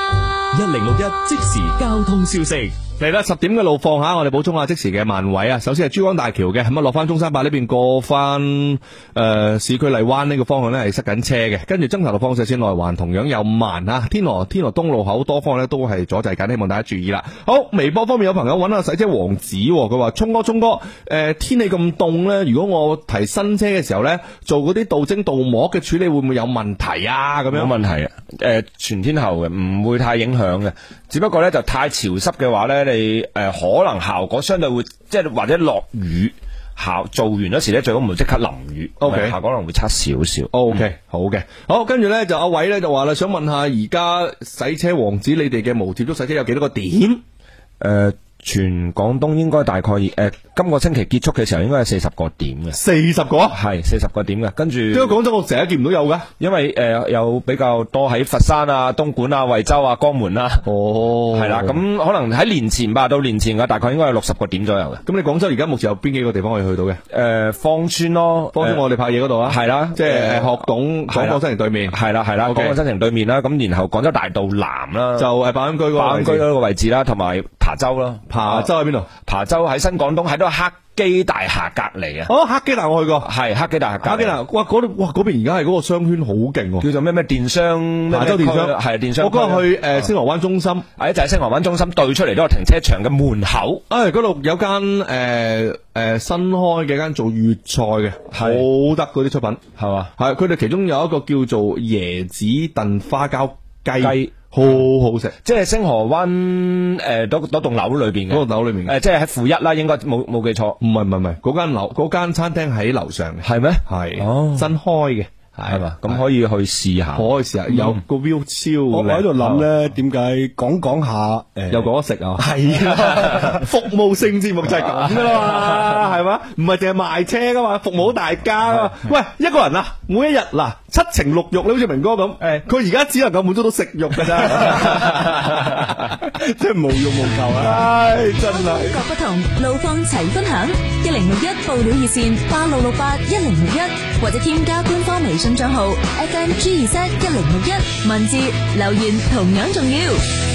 1061即時交通消息。 嚟啦，10點嘅路況下，我哋補充下即時嘅慢位啊。首先係珠江大橋嘅，咁啊落翻中山八呢邊過翻市區荔灣呢個方向呢係塞緊車嘅，跟住增槎路方向線內環同樣有慢啊。天河東路口多方呢都係阻滯緊，希望大家注意啦。好，微博方面有朋友揾下洗車王子，佢話聰哥，天氣咁凍呢，如果我提新車嘅時候呢，做嗰啲鍍晶鍍膜嘅處理會唔會有問題啊？咁樣冇問題啊，全天候嘅，唔會太影響嘅，只不過呢就太潮濕嘅話呢。你可能效果相對會即係或者落雨做完嗰時咧，最好唔好即刻淋雨。OK， 效果可能會差少少。 OK，好嘅，好，跟住咧就阿偉咧就話啦，想問下而家洗車王子你哋嘅無接觸洗車有幾多個點？ 全廣東應該大概今個星期結束嘅時候應該係40個點嘅。 40個？係 40個點嘅。跟住點解廣州我成日見唔到有㗎？ 因為有比較多喺佛山啊、東莞啊、惠州啊、江門啊。係啦，咁可能喺年前吧，到年前嘅大概應該有60個點左右嘅。 咁你廣州而家目前有邊幾個地方可以去到嘅？ 芳村咯， 芳村我哋拍嘢嗰度啊。係啦，即係學董廣播新城對面。係啦，廣播新城對面啦。咁然後廣州大道南啦， 就係白雲居嗰個位置啦，同埋琶洲啦。 琶洲喺邊度？ 琶洲喺新廣東，喺度黑基大廈隔籬啊！ 哦，黑基大廈我去過， 係黑基大廈隔籬。 黑基大廈，哇，嗰度哇，嗰邊而家係嗰個商圈好勁， 叫做咩電商？ 琶洲電商係電商。 我嗰日去星河灣中心， 就係星河灣中心對出嚟嗰個停車場嘅門口。 嗰度有間新開嘅間做粵菜嘅，好得嗰啲出品係嘛？係佢哋其中有一個叫做椰子燉花膠雞。好好食， 即係星河灣嗰棟樓裏邊嘅， 嗰棟樓裏面即係喺負一啦，應該冇記錯。 唔係，嗰間餐廳喺樓上嘅。 係咩？ 係哦， 新開嘅。 係嘛？咁可以去試下， 可以試下，有個 view 超。我喺度諗咧，點解講下又講得食啊？係啊，服務性節目就係咁噶啦嘛，係嘛？唔係淨係賣車噶嘛，服務大家啊嘛。喂，一個人啊，每一日嗱7情6慾，你好似明哥咁，佢而家只能夠滿足到食慾噶咋，即係無慾無求啊！唉，真係。 風格不同，路況齊分享。1061報料熱線86681061，或者添加官方微信賬號 FMG2Z1061，文字留言同樣重要。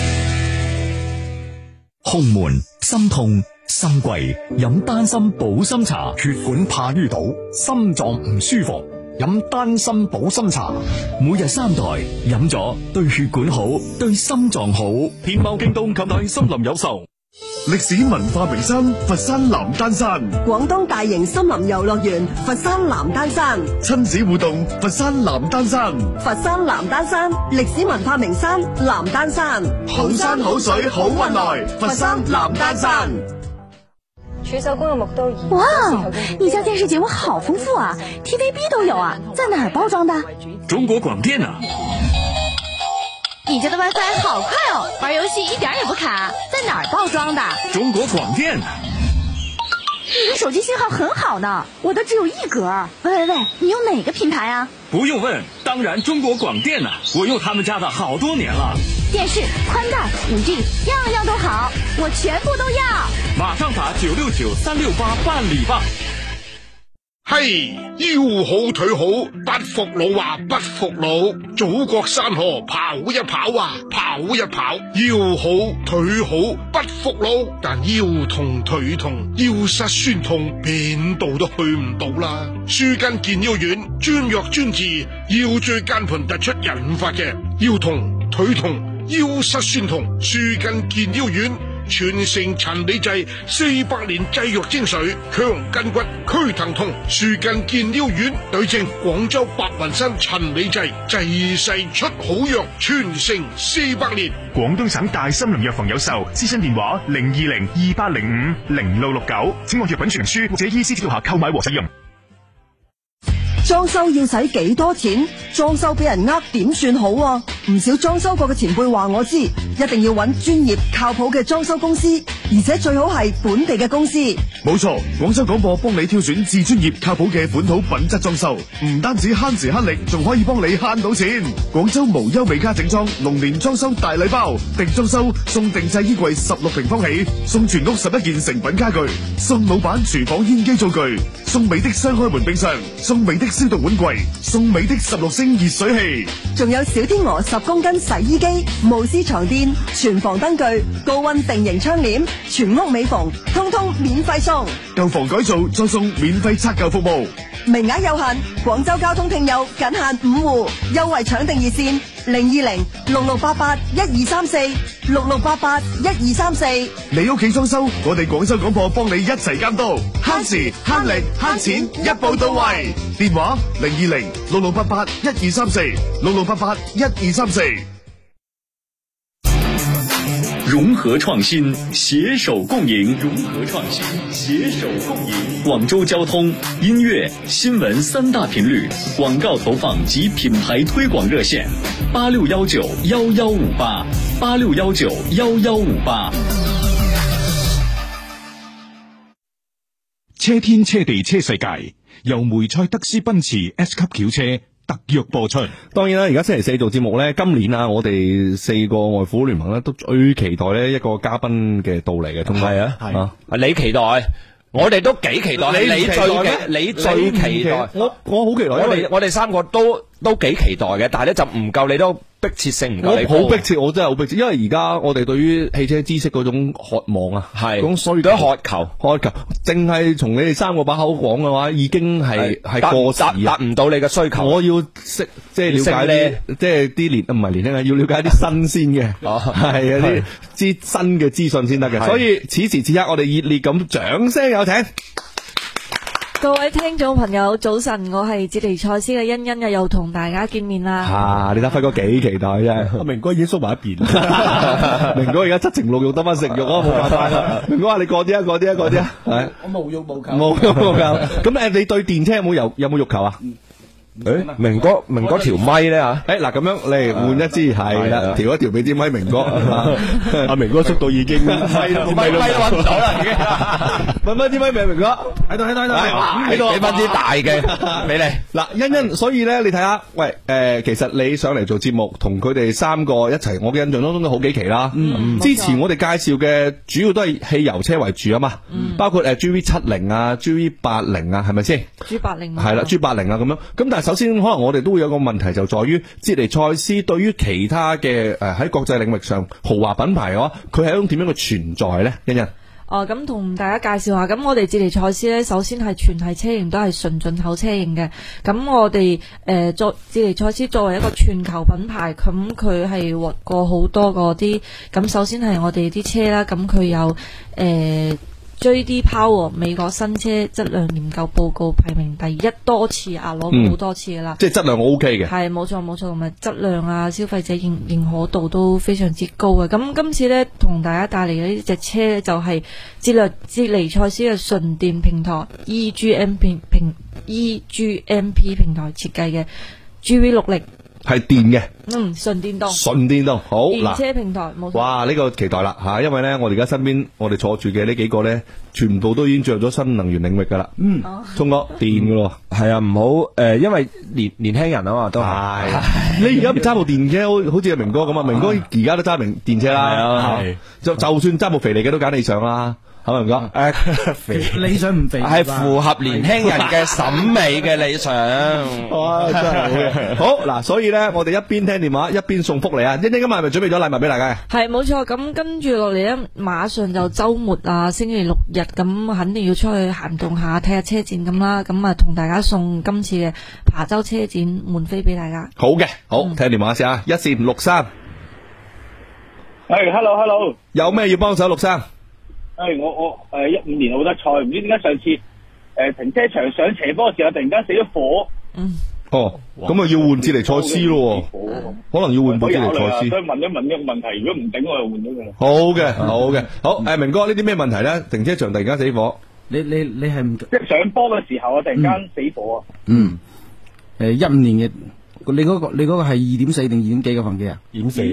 胸悶、心痛、心悸，飲丹參保心茶；血管怕淤堵，心臟唔舒服，飲丹參保心茶。每日3袋，飲咗對血管好，對心臟好。天貓、京東及大森林有售。 歷史文化名山佛山南丹山， 廣東大型森林遊樂園佛山南丹山， 親子互動佛山南丹山， 佛山南丹山歷史文化名山南丹山， 好山好水好運來，佛山南丹山。 徐州公有木刀魚。 哇，你家電視節目好豐富啊 ，TVB 都有啊，在哪兒包裝的？ 中國廣電啊。 你家的 WiFi 好快哦，玩遊戲一點也不卡，在哪兒包裝的？ 中國廣電。 你的手機信號很好呢，我的只有1格。喂，你用哪個品牌啊？ 不用問，當然中國廣電啊，我用他們家的好多年了。 電視、寬帶、5G，樣樣都好，我全部都要。 馬上打969-368辦理吧。 嘿，腰好腿好，不服老話不服老，祖國山河跑一跑啊，跑一跑，腰好腿好不服老，但腰痛腿痛，腰膝酸痛，邊度都去唔到啦。舒筋健腰丸，專藥專治腰椎間盤突出引發嘅腰痛、腿痛、腰膝酸痛，舒筋健腰丸。全城陳李濟400年製藥精髓，強筋骨、驅疼痛，舒筋健腰丸，對症廣州白雲山陳李濟，濟世出好藥，傳承400年。 廣東省大森林藥房有售，諮詢電話0202050669，請按藥品說明書或者醫師指導下購買和使用。 裝修要使幾多錢？裝修俾人呃點算好啊？唔少裝修過嘅前輩話我知，一定要揾專業靠譜嘅裝修公司，而且最好係本地嘅公司。 冇錯，廣州廣播幫你挑選至專業靠譜嘅本土品質裝修，唔單止慳時慳力，仲可以幫你慳到錢。廣州無憂美家整裝龍年裝修大禮包，定裝修送定製衣櫃16平方起，送全屋11件成品家具，送老闆廚房煙機灶具，送美的雙開門冰箱，送美的消毒碗櫃，送美的16升熱水器， 仲有小天鵝10公斤洗衣機、慕斯床墊、全房燈具、高溫定型窗簾，全屋美縫，通通免費送。 舊房改造再送免費拆舊服務， 名額有限，廣州交通聽友僅限5戶，優惠搶定熱線020-6688-1234，6688-1234。 你屋企裝修，我哋廣州廣播幫你一齊監督，慳時慳力慳錢，一步到位。電話020-6688-1234，6688-1234。 融合創新，攜手共贏。融合創新，攜手共贏。廣州交通、音樂、新聞3大頻率廣告投放及品牌推廣熱線：86191158，86191158。 車天車地車世界，由梅賽德斯奔馳 S 級轎車特約播出。 當然啦，而家星期4做節目咧，今年啊，我哋4個外父聯盟咧都最期待呢一個嘉賓嘅到嚟嘅，同係啊， 你期待，我哋都幾期待，你最期待，我好期待， 我哋3個都幾期待嘅，但係咧就唔夠你都迫切性唔夠你， 好迫切，我真係好迫切，因為而家我哋對於汽車知識嗰種渴望啊，係咁所以都渴求，淨係從你哋3個把口講嘅話，已經係過時， 達唔到你嘅需求。 我要識即係了解啲，即係啲唔係年輕人，要了解啲新鮮嘅，係啲新嘅資訊先得嘅。所以此時此刻，我哋熱烈咁掌聲有請。 各位聽眾朋友，早晨，我係捷尼賽斯嘅欣欣，又同大家見面啦。 你睇輝哥幾期待啫，明哥已經縮埋一邊，明哥而家7情6欲得翻食肉啊，冇辦法啦。明哥話你過啲啊，係我無欲無求， 冇欲無求。咁你對電車有冇欲求啊？ 明哥條咪咧吓， 嗱咁樣嚟換一支係啦，調一調俾支咪明哥，阿明哥速度已經咪都搵唔到啦，已經搵翻支咪俾明哥，喺度， 俾翻支大嘅俾你。 嗱，欣，所以咧你睇下，喂，其實你上嚟做節目，同佢哋3個一齊，我嘅印象當中都好幾期啦。之前我哋介紹嘅主要都係汽油車為主啊嘛，包括GV70啊、GV80啊，係咪先 ？G80 係啦，G80啊咁樣，咁但係首先可能我哋都會有個問題，就在於捷尼賽斯對於其他嘅喺國際領域上豪華品牌嘅話，佢係一種點樣嘅存在咧？欣。 咁同大家介紹下，咁我哋捷尼賽斯呢，首先係全系車型都係純進口車型嘅。咁我哋捷尼賽斯作為一個全球品牌，咁佢係獲過好多嗰啲。咁首先係我哋啲車啦，咁佢有JD Power 美國新車質量研究報告排名第一多次啊，攞過好多次噶啦。 即係質量 OK 嘅。 係冇錯，同埋質量啊，消費者認可度都非常之高嘅。咁今次呢，同大家帶嚟嘅呢隻車呢，就係捷尼賽斯嘅純電平台 EGMP 平台設計嘅 GV60。 係電嘅， 純電動， 好電車平台，冇錯。 哇，呢個期待啦吓，因為咧，我哋而家身邊我哋坐住嘅呢幾個咧，全部都已經進入咗新能源領域噶啦。聰哥，電噶咯， 係啊，唔好因為年輕人啊嘛，都係。你而家唔揸部電車，好似阿明哥咁啊，明哥而家都揸電車啦，就算揸部肥嚟嘅都揀理想啦。好明哥， 肥理想唔肥， 係符合年輕人嘅審美嘅理想。哇，真係好嘅。好嗱，所以咧，我哋一邊聽電話一邊送福利啊！欣欣今日係咪準備咗禮物俾大家嘅？ 係冇錯，咁跟住落嚟咧，馬上就週末啊，星期六日咁，肯定要出去行動下，睇下車展咁啦。咁啊，同大家送今次嘅琶洲車展門飛俾大家。 好嘅，好，聽電話先啊，一線63。 hello， 有咩要幫手，陸生？ 我15年奧德賽，唔知點解上次停車場上斜坡嘅時候突然間死咗火。 咁啊要換捷尼賽斯咯，可能要換部捷尼賽斯。 所以問一問呢個問題，如果唔頂我就換咗佢啦。 好嘅，好明哥呢啲咩問題咧？停車場突然間死火， 你係唔即係上坡嘅時候啊，突然間死火啊。 15年嘅，你嗰個係2.4定2.幾嘅發動機啊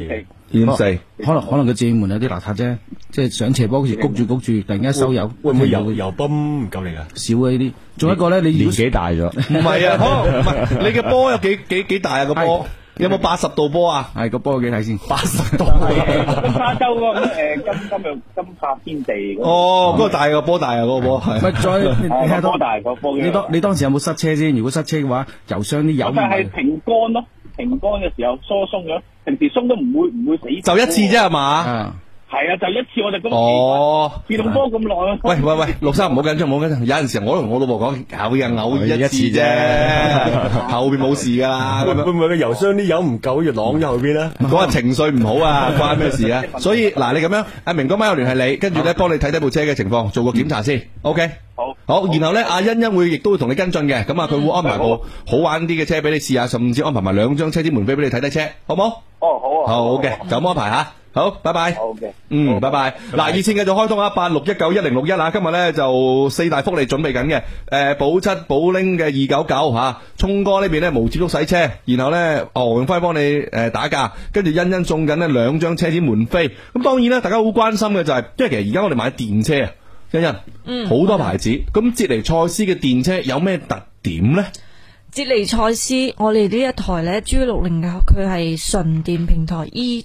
？2.4， 可能個正門有啲邋遢啫，即係上斜坡嗰時谷住，突然間收油， 會唔會油泵唔夠力啊？ 少啊呢啲，仲有一個咧，你年紀大咗，唔係啊，唔係你嘅波有幾大啊個波？有冇80度波啊？ 係個波幾睇先 ？80度。 沙洲嗰個金髮天地。 嗰個大個波大啊，嗰個波係。 咪再波大個波。 你當時有冇塞車先？如果塞車嘅話，油箱啲油。 就係停乾咯，停乾嘅時候疏鬆咗，平時鬆都唔會死。 就一次啫係嘛？ 係啊，就一次我哋咁自動波咁耐。 喂，陸生唔好緊張，有陣時我都同我老婆講，偶爾一次啫，後邊冇事噶啦。 會唔會個油箱啲油唔夠，要晾咗後邊咧？ 嗰日情緒唔好啊，關咩事啊？所以嗱，你咁樣，阿明哥媽有聯繫你，跟住咧幫你睇部車嘅情況，做個檢查先。OK。好，然後咧，阿欣欣亦都會同你跟進嘅，咁啊，佢會安排部好玩啲嘅車俾你試下，甚至安排埋2張車展門飛俾你睇車，好冇？ 好啊。 好嘅，就咁安排吓。好，拜拜。 好嘅， 拜拜。嗱，熱線繼續開通啊，86191061啊，今日咧就4大福利準備緊嘅，保7保拎嘅299吓，聰哥呢邊咧無接觸洗車，然後咧何永輝幫你打價，跟住欣欣送緊呢2張車展門飛。咁當然咧，大家好關心嘅就係，因為其實而家我哋買電車啊，欣欣，好多牌子，咁捷尼賽斯嘅電車有咩特點咧？ 捷尼賽斯，我哋呢一台呢 G60 嘅，佢係純電平台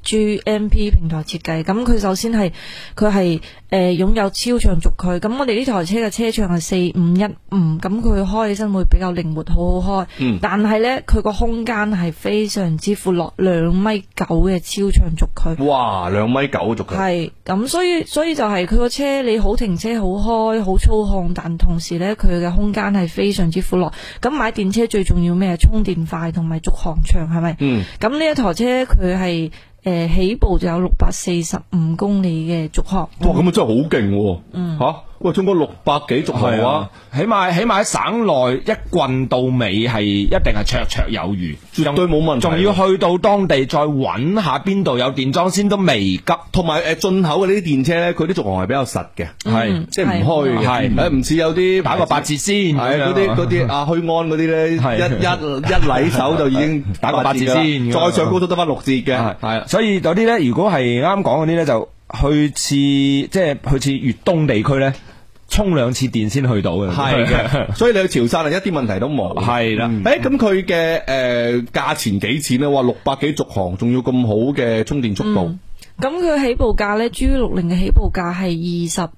EGMP 平台設計。咁佢首先係佢係擁有超長軸距。咁我哋呢台車嘅車長係4515，咁佢開起身會比較靈活，好好開。但係呢，佢個空間係非常之闊落，2.9米嘅超長軸距。 哇，2.9米軸距。 係咁，所以就係佢個車你好停車，好開，好操控，但同時呢，佢嘅空間係非常之闊落。咁買電車最重要咩？充電快同埋續航長，係咪？咁呢一台車佢係起步就有645公里嘅續航。 哇，咁啊真係好勁喎！吓，喂，中國600幾續航啊， 起碼喺省內一棍到尾係一定係綽綽有餘，絕對冇問題。仲要去到當地再揾下邊度有電裝先都未急。同埋進口嘅呢啲電車咧，佢啲續航係比較實嘅，係即係唔虛嘅，係唔似有啲打個8折先，係嗰啲啊虛安嗰啲咧，一禮手就已經打個8折先，再上高都得翻6折嘅，係。所以有啲咧，如果係啱講嗰啲咧，就去次粵東地區咧，充2次電先去到嘅，係嘅。所以你去潮汕係一啲問題都冇，係啦。咁佢嘅價錢幾錢咧？話600幾續航，仲要咁好嘅充電速度。 咁佢起步價咧 ，G60 嘅起步價係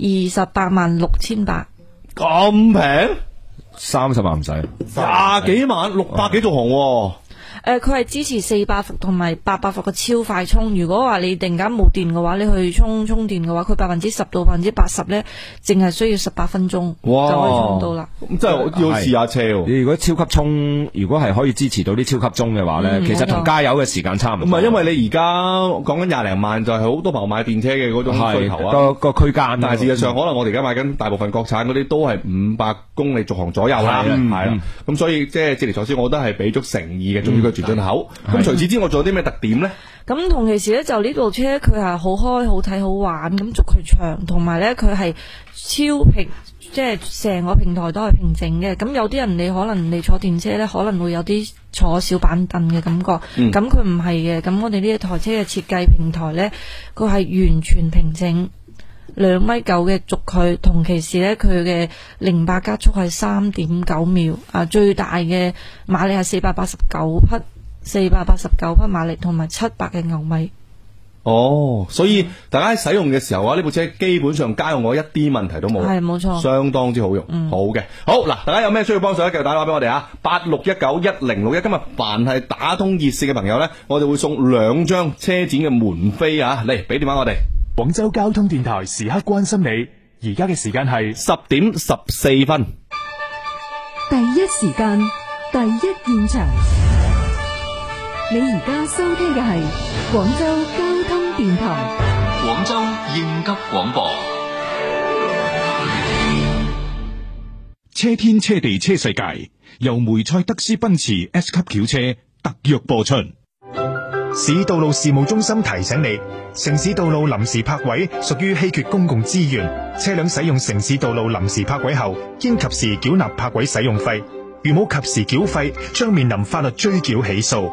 286800， 咁平 ，30萬唔使，20幾萬，600幾續航。 佢係支持400伏同埋800伏嘅超快充。如果話你突然間冇電嘅話，你去充電嘅話，佢10%到80%咧，淨係需要18分鐘就可以充到啦。 咁真係要試下車喎。 你如果超級充，如果係可以支持到啲超級充嘅話咧，其實同加油嘅時間差唔多。 唔係，因為你而家講緊20零萬，就係好多朋友買電車嘅嗰種需求啊。 個區間， 但係事實上可能我哋而家買緊大部分國產嗰啲都係500公里續航左右啦，係啦。咁所以即係捷尼賽斯，我覺得係俾足誠意嘅，仲要佢全進口。咁除此之外，仲有啲咩特點咧？ 咁同其時咧，就呢部車佢係好開、好睇、好玩，咁軸距長，同埋咧佢係超平，即係成個平台都係平整嘅。咁有啲人你可能你坐電車咧，可能會有啲坐小板凳嘅感覺，咁佢唔係嘅。咁我哋呢一台車嘅設計平台咧，佢係完全平整。2.9米嘅軸距，同其時咧佢嘅0百加速係3.9秒，最大嘅馬力係489匹馬力，同埋700嘅牛米。 哦，所以大家喺使用嘅時候啊，呢部車基本上家用我一啲問題都冇， 係冇錯， 相當之好用，好嘅。好嗱，大家有咩需要幫手咧，繼續打電話俾我哋啊，86191061。今日凡係打通熱線嘅朋友咧，我哋會送2張車展嘅門飛啊，嚟俾電話我哋。 廣州交通電台時刻關心你，而家嘅時間係 10:14。 第一時間，第一現場。你而家收聽嘅係廣州交通電台。 廣州應急廣播。 車天車地車世界由梅賽德斯奔馳 S 級轎車特約播出。市道路事務中心提醒你，城市道路臨時泊位屬於稀缺公共資源，車輛使用城市道路臨時泊位後，應及時繳納泊位使用費，如冇及時繳費，將面臨法律追繳起訴。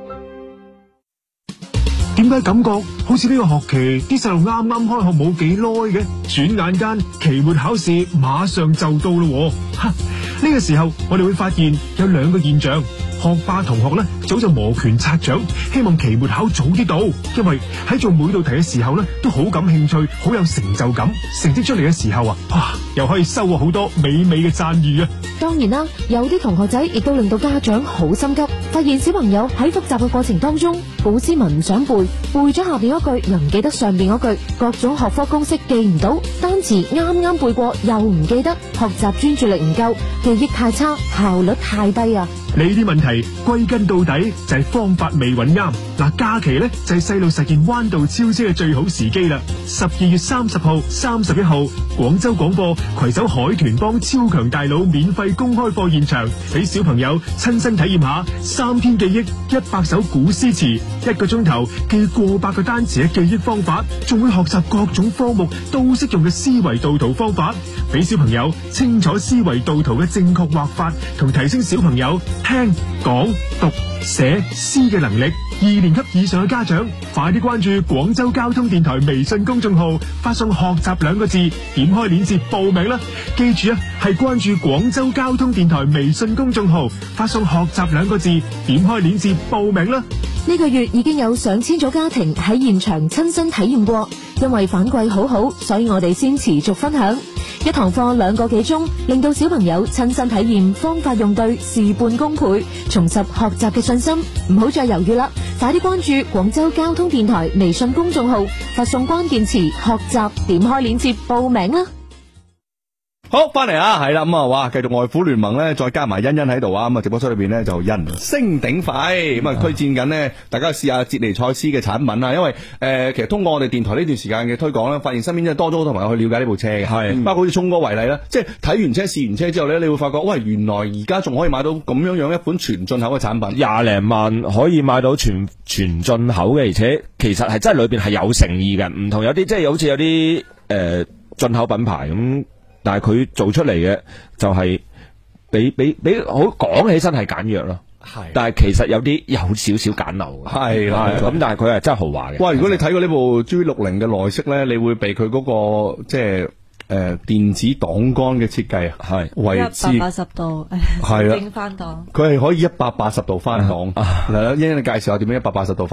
點解感覺好似呢個學期啲細路啱啱開學冇幾耐嘅，轉眼間期末考試馬上就到咯。呢個時候我哋會發現有2個現象。學霸同學咧早就摩拳擦掌，希望期末考早啲到，因為喺做每道題嘅時候咧都好感興趣，好有成就感。成績出嚟嘅時候又可以收穫好多美美嘅讚譽啊！ 當然啦，有啲同學仔亦都令到家長好心急，發現小朋友喺複習嘅過程當中，古詩文唔想背咗下邊嗰句又唔記得上邊嗰句，各種學科公式記唔到，單詞啱背過又唔記得，學習專注力唔夠，記憶太差，效率太低啊！ 呢啲問題歸根到底就係方法未揾啱。假期呢就係細路實現彎道超車嘅最好時機啦。12月30號、31號，廣州廣播攜手海豚幫超強大腦免費公開課現場，俾小朋友親身體驗下3天記憶100首古詩詞，1個鐘頭記過百個單詞嘅記憶方法，仲會學習各種科目都適用嘅思維導圖方法，俾小朋友清楚思維導圖嘅正確畫法，同提升小朋友聽、講、讀、寫、詩嘅能力。2年級以上嘅家長，快啲關注廣州交通電台微信公眾號，發送學習2個字，點開鏈接報名啦！記住係關注廣州交通電台微信公眾號，發送學習2個字，點開鏈接報名啦！ 呢個月已經有上千組家庭喺現場親身體驗過，因為反饋好好，所以我哋先持續分享。一堂課2個幾鐘，令到小朋友親身體驗，方法用對，事半功倍，重拾學習嘅信心。唔好再猶豫啦，快啲關注廣州交通電台微信公眾號，發送關鍵詞學習，點開鏈接報名啦。 好，翻嚟啊，係啦，哇，繼續外虎聯盟咧，再加埋欣欣喺度啊，直播室裏邊咧就人聲鼎沸，推薦緊呢，大家試下捷尼賽斯嘅產品啊，因為其實通過我哋電台呢段時間嘅推廣咧，發現身邊真係多咗好多朋友去了解呢部車嘅，係，包括好似聰哥為例啦，即係睇完車試完車之後咧，你會發覺，喂，原來而家仲可以買到咁樣一款全進口嘅產品 ，20零萬可以買到全進口嘅，而且其實係真係裏邊係有誠意嘅，唔同有啲即係好似有啲進口品牌咁。但係佢做出嚟嘅就係比好講起身係簡約咯，係，但係其實有少少簡陋嘅，係啦，咁但係佢係真係豪華嘅。 哇！如果你睇過呢部 G60嘅內飾咧，你會被佢嗰個即係電子檔桿嘅設計係為之 180度，係啦，整翻檔， 佢係可以180度翻檔。嚟啦，欣欣你介紹下點樣180度法？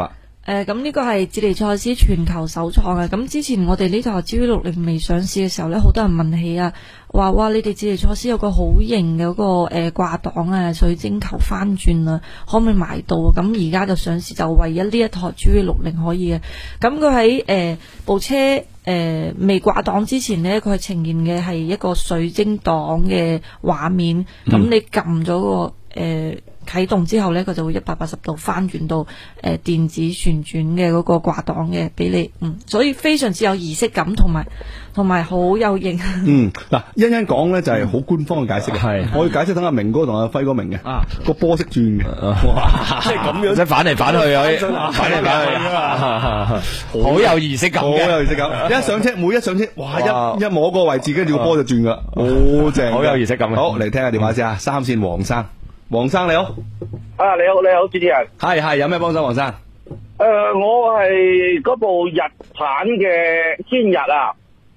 咁呢個係智利賽斯全球首創嘅。咁之前我哋呢台 GV60未上市嘅時候呢，好多人問起啊，話哇你哋智利賽斯有個好型嘅嗰個掛檔啊，水晶球翻轉啊，可唔可以買到啊？咁而家就上市，就唯一呢一台 GV60可以嘅。咁佢喺部車未掛檔之前呢，佢呈現嘅係一個水晶檔嘅畫面。咁你撳咗個啟動之後呢，佢就會180度翻轉到電子旋轉嘅嗰個掛檔嘅俾你，所以非常之有儀式感，同埋好有型。 嗱，欣欣講呢就係好官方嘅解釋，係我要解釋等阿明哥同阿輝哥明嘅，個波識轉嘅，哇，即係咁樣， 即係反嚟反去啊，反嚟反去啊，好有儀式感， 好有儀式感。一上車，每一上車，哇，一摸個位置，跟住個波就轉噶啦，好正， 好有儀式感。 好，嚟聽下電話先啊，三線黃生。黃生你好， 你好，主持人， 係有咩幫手？黃生， 我係嗰部日產嘅先日啊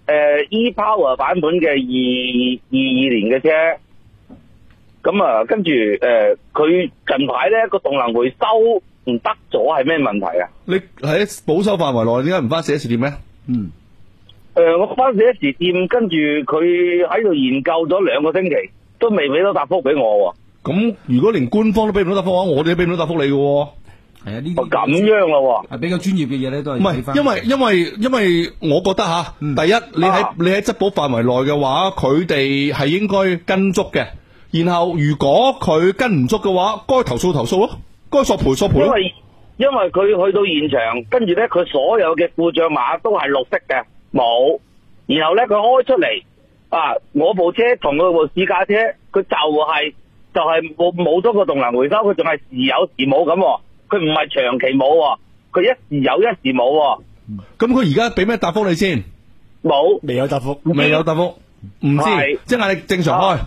，e-Power 版本嘅22年嘅車，咁啊，跟住佢近排咧個動能回收唔得咗，係咩問題啊？ 你喺保修範圍內，點解唔翻 4S 店咧？ 我翻4S店，跟住佢喺度研究咗2個星期，都未俾到答覆俾我。 咁如果連官方都俾唔到答覆嘅話，我哋都俾唔到答覆你嘅。 係啊，呢啲咁樣咯， 係比較專業嘅嘢咧，都係唔係，因為我覺得吓，第一，你喺質保範圍內嘅話，佢哋係應該跟足嘅。然後如果佢跟唔足嘅話，該投訴咯，該索賠咯。 因為佢去到現場，跟住咧佢所有嘅故障碼都係綠色嘅，冇。然後咧佢開出嚟我部車同佢部試駕車，佢就係冇咗個動能回收，佢仲係時有時冇咁，佢唔係長期冇，佢一時有一時冇。 咁佢而家俾咩答覆你先？ 冇， 未有答覆， 唔知，即係你正常開。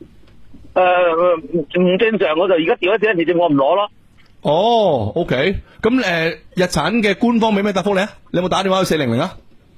唔正常，我就而家調一4S店，我唔攞咯。 哦 ，OK， 咁日產嘅官方俾咩答覆你啊？你有冇打電話去400啊？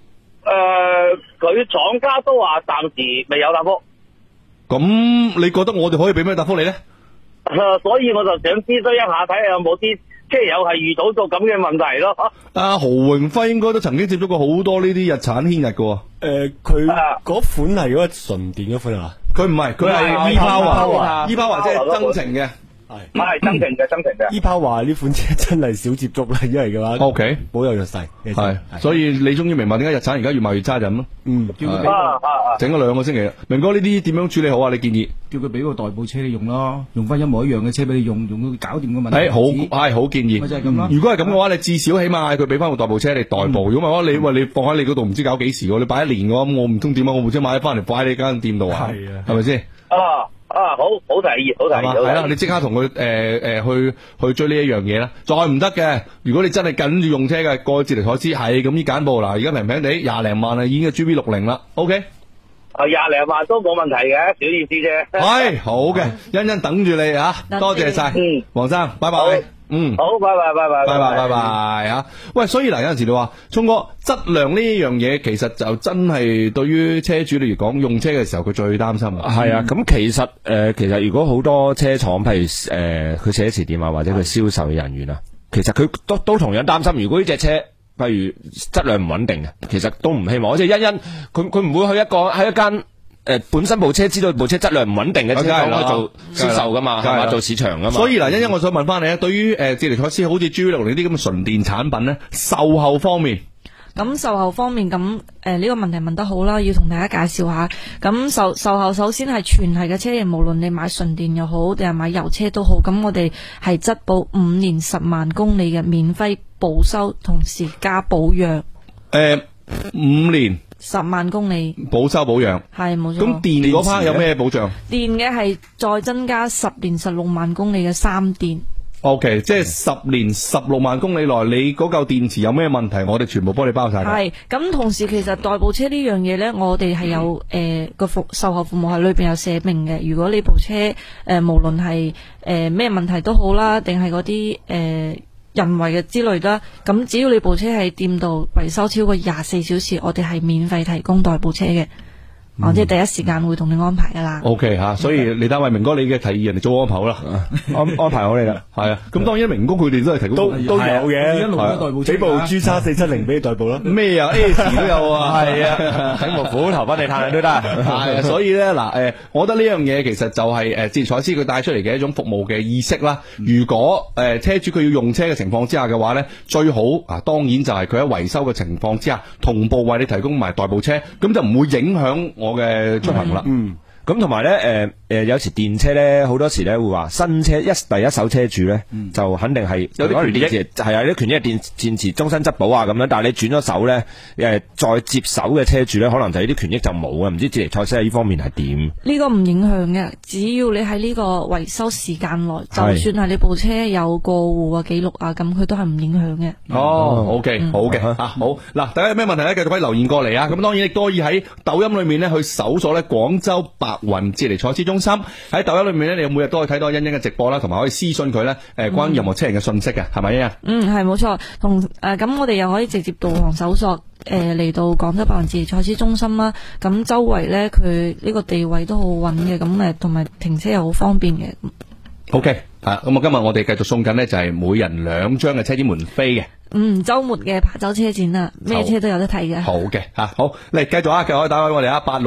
佢廠家都話暫時未有答覆。 咁你覺得我哋可以俾咩答覆你咧？ 所以我就想諮詢一下，睇下有冇啲車友係遇到咗咁嘅問題咯。 阿何榮輝應該都曾經接觸過好多呢啲日產軒日嘅。 佢嗰款係嗰個純電嗰款啊？ 佢唔係，佢係 e-Power 即係增程嘅。 係增程嘅。 e-Power 呢款車真係少接觸啦，因為嘅話 ，OK， 好有弱勢。 係，所以你終於明白點解日產而家越賣越差就咁咯。整咗2個星期啦。明哥呢啲點樣處理好啊？你建議？ 叫佢俾個代步車你用咯，用翻一模一樣嘅車俾你用到搞掂個問題。 好建議。 咪就係咁咯。如果係咁嘅話，你至少起碼嗌佢俾翻個代步車你代步。如果唔係話，你放喺你嗰度唔知搞幾時喎？你擺1年嘅話，我唔通點啊？我部車買翻嚟擺喺你間店度啊？係啊，係咪先？ 好提議。 係啦，你即刻同佢去追呢一樣嘢啦。再唔得嘅，如果你真係緊住用車嘅，過去智利賽斯係咁依揀部嗱，而家平平地20零萬啊，已經係 GV60啦。OK， 20零萬都冇問題嘅，小意思啫。 係好嘅，欣欣等住你啊，多謝晒，黃生，拜拜。 好，拜拜啊！喂，所以嗱，有陣時你話，聰哥，質量呢樣嘢其實就真係對於車主嚟講，用車嘅時候佢最擔心啊。 係啊，咁其實如果好多車廠，譬如佢4S店啊，或者佢銷售嘅人員啊，其實佢都同樣擔心，如果呢隻車譬如質量唔穩定嘅，其實都唔希望。即係欣欣，佢唔會喺一間本身部車知道部車質量唔穩定嘅車廠去做銷售噶嘛，係嘛，做市場噶嘛。 所以嗱，欣欣，我想問翻你啊，對於智利賽斯好似 GV60呢啲咁嘅純電產品咧，售後方面， 咁售後方面咁呢個問題問得好啦，要同大家介紹下。咁售後首先係全系嘅車型，無論你買純電又好，定係買油車都好，咁我哋係質保5年10萬公里嘅免費保修，同時加保養。 5年。 10萬公里保修保養係冇錯。 咁電嗰 part 有咩保障？ 電嘅係再增加10年16萬公里嘅3電。 OK， 即係10年16萬公里內，你嗰嚿電池有咩問題，我哋全部幫你包晒。 係咁，同時其實代步車呢樣嘢呢，我哋係有個售後服務喺裏邊有寫明嘅。如果你部車無論係咩問題都好啦，定係嗰啲人為嘅之類啦，咁只要你部車喺店度維修超過24小時，我哋係免費提供代步車嘅。 我即係第一時間會同你安排噶啦。 OK 吓，所以你單位明哥，你嘅提議人哋做安排好啦， 安排好你啦。 係啊，咁當然明哥佢哋都係提供都有嘅， 一路都代步車幾部 G3470俾你代步啦。 咩啊 S 都有啊， 係啊，醒目虎頭幫你探都得。 係啊，所以咧嗱，我覺得呢樣嘢其實就係捷賽斯佢帶出嚟嘅一種服務嘅意識啦。如果車主佢要用車嘅情況之下嘅話咧，最好啊，當然就係佢喺維修嘅情況之下，同步為你提供埋代步車，咁就唔會影響我嘅出行啦。 咁同埋咧，有時電車咧，好多時咧會話新車第一手車主咧，就肯定係有啲權益， 係啊，啲權益係電池終身質保啊咁樣。但係你轉咗手咧，再接手嘅車主咧，可能就呢啲權益就冇啊。唔知捷尼賽斯喺呢方面係點？ 呢個唔影響嘅，只要你喺呢個維修時間內，就算係你部車有過戶啊記錄啊，咁佢都係唔影響嘅。 OK，好嘅好嗱，大家有咩問題咧，繼續可以留言過嚟啊。咁當然亦都可以喺抖音裏面咧去搜索咧廣州白雲捷尼賽斯中心，喺抖音裏面咧，你每日都可以睇到欣欣嘅直播啦，同埋可以私信佢咧，關於任何車型嘅信息嘅，係咪欣欣？ 係冇錯，咁我哋又可以直接導航搜索嚟到廣州白雲捷尼賽斯中心啦。咁周圍咧佢呢個地位都好穩嘅，咁同埋停車又好方便嘅。 OK，咁今日我哋繼續送緊呢，就係每人2張嘅車展門飛嘅。 周末嘅琶洲車展啊，咩車都有得睇嘅。好嘅， 好嚟繼續啊，繼續可以打開我哋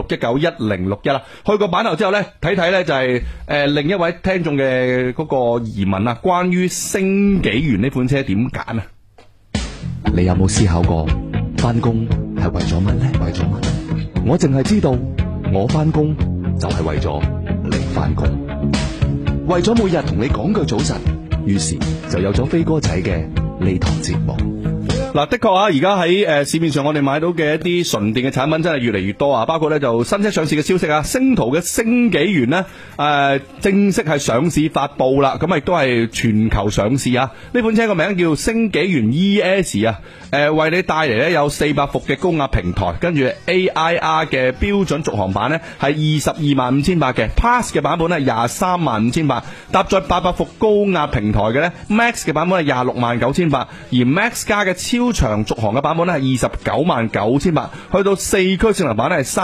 86191061啦。去個版頭之後咧，睇睇咧就係另一位聽眾嘅嗰個疑問啊，關於星紀元呢款車點揀啊？ 你有冇思考過翻工係為咗乜呢？為咗乜？我淨係知道我翻工就係為咗你翻工，為咗每日同你講句早晨，於是就有咗飛哥仔嘅呢堂節目。 嗱，的確啊，而家喺市面上我哋買到嘅一啲純電嘅產品真係越嚟越多啊！包括咧就新車上市嘅消息啊，星途嘅星紀元呢正式係上市發布啦，咁亦都係全球上市啊！呢款車個名叫星紀元 ES 啊，為你帶嚟咧有400伏嘅高壓平台，跟住 AIR 嘅標準續航版呢係225800嘅 ，Plus 嘅版本呢235800，搭載800伏高壓平台嘅呢 Max 嘅版本係269,800，而 Max 加嘅超長續航嘅版本咧係299800，去到4驅性能版咧係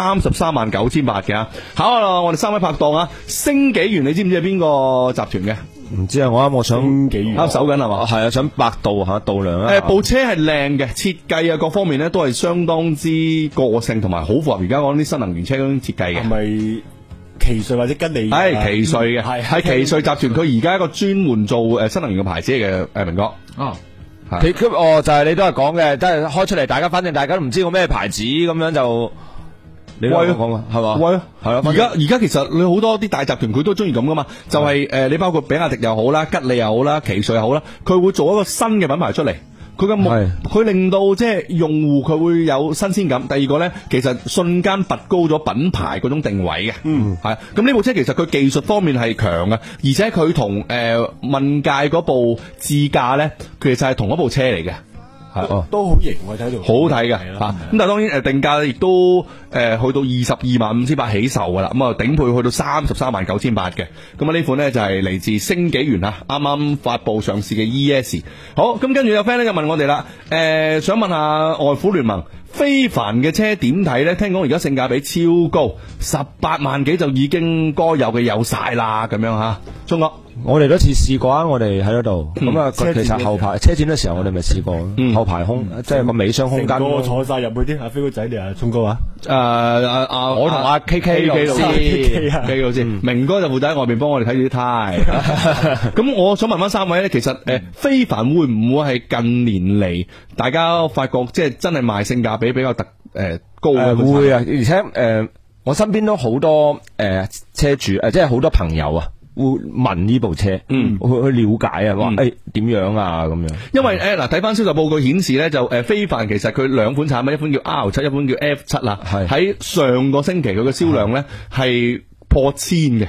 339800嘅。好啦，我哋3位拍檔啊，星紀元你知唔知係邊個集團嘅？ 唔知啊，我想啱手緊係嘛？ 係啊，想百度下度量啊。 部車係靚嘅，設計啊各方面咧都係相當之個性，同埋好符合而家講啲新能源車嗰種設計嘅。 係咪奇瑞或者吉利？ 係奇瑞嘅，係奇瑞集團。佢而家一個專門做新能源嘅牌子嘅，明哥。 佢就係你都係講嘅，都係開出嚟，反正大家都唔知個咩牌子咁樣就。你都講嘛，係嘛？ 喂，係啊！而家其實你好多啲大集團佢都中意咁噶嘛，就係你包括比亞迪又好啦、吉利又好啦、奇瑞又好啦，佢會做一個新嘅品牌出嚟。佢令到即係用戶佢會有新鮮感。第二個咧，其實瞬間拔高咗品牌嗰種定位嘅。係。咁呢部車其實佢技術方面係強嘅，而且佢同問界嗰部智駕咧，其實係同一部車嚟嘅。 都好型，我睇到好睇嘅吓，咁但係當然定價亦都去到225800起售噶啦，咁啊頂配去到339800嘅，咁啊呢款呢就係嚟自星紀元啊，啱啱發布上市嘅 ES。好，咁跟住有 friend 咧就問我哋啦，想問下外虎聯盟非凡嘅車點睇呢？聽講而家性價比超高，18萬幾就已經該有嘅有晒啦，咁樣吓，聰哥。 我哋都次試過啊！我哋喺嗰度咁啊，其實後排車展嘅時候我哋咪試過，後排空即係個尾箱空間， 我坐晒入去啲阿飛哥仔你啊，聰哥啊， 我同阿 KK 老師，明哥就負責喺外邊幫我哋睇住啲胎。咁我想問翻3位咧，其實非凡會唔會係近年嚟大家發覺即係真係賣性價比比較高嘅？ 會啊，而且我身邊都好多車主即係好多朋友啊。會問呢部車，去了解啊，話點樣啊咁樣。 因為嗱睇翻銷售報告顯示咧，就非凡其實佢2款產品，一款叫 R7，一款叫 F7 啦。喺上個星期佢嘅銷量咧係破千嘅。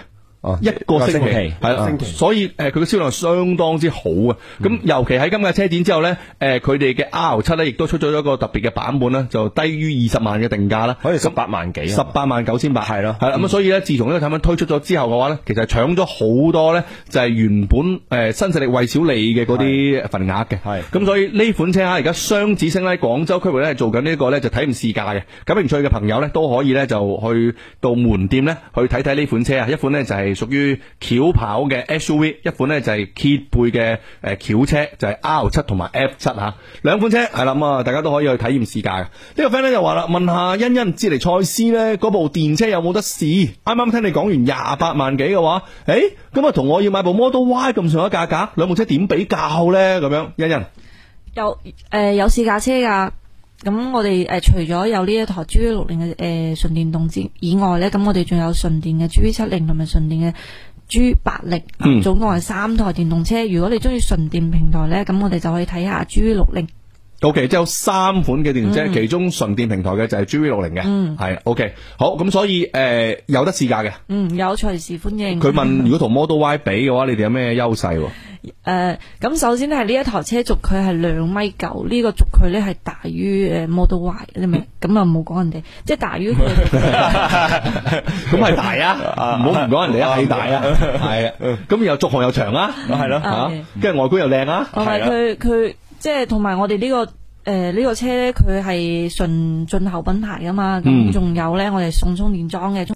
一個星期係啦，所以佢嘅銷量相當之好啊！咁尤其喺今屆車展之後咧，佢哋嘅 R7 咧亦都出咗一個特別嘅版本啦，就低於20萬嘅定價啦， 可以18萬幾 ，18萬9千8係咯，係啦。咁所以咧，自從呢個產品推出咗之後嘅話咧，其實搶咗好多咧，就係原本新勢力蔚小理嘅嗰啲份額嘅。係咁，所以呢款車而家雙子星咧，廣州區域咧做緊呢個咧就體驗試駕嘅。感興趣嘅朋友咧都可以咧就去到門店咧去睇睇呢款車啊！一款咧就係屬於轎跑嘅 SUV， 一款咧就係揭背嘅轎車，就係 R7 同埋 F7 吓，兩款車係啦，咁啊大家都可以去體驗試駕嘅。呢個 friend 咧就話啦，問下欣欣智尼賽斯咧嗰部電車有冇得試？啱啱聽你講完28萬幾嘅話，咁啊同我要買部 Model Y 咁上下價格，兩部車點比較咧？咁樣，欣欣有試駕車噶。咁我哋除咗有呢一台 GV60 嘅純電動以外咧，咁我哋仲有純電嘅 GV70 同埋純電嘅 G80，總共係3台電動車。如果你中意純電平台咧，咁我哋就可以睇下 GV60。 OK， 即係有3款嘅電動車，其中純電平台嘅就係 GV60 嘅，係 OK。好，咁所以有得試駕嘅， 有隨時歡迎。 佢問如果同 Model Y 比嘅話，你哋有咩優勢？ 咁首先係呢一台車軸距係2.9米，呢個軸距咧係大於Model Y， 你明？咁啊冇講人哋，即係大於佢。 咁係大啊，唔好唔講人哋啊，係大啊，係啊。咁又續航又長啊，係咯吓，跟住外觀又靚啊， 同埋佢即係同埋我哋呢個呢個車咧，佢係純進口品牌噶嘛，咁仲有咧我哋送充電樁嘅。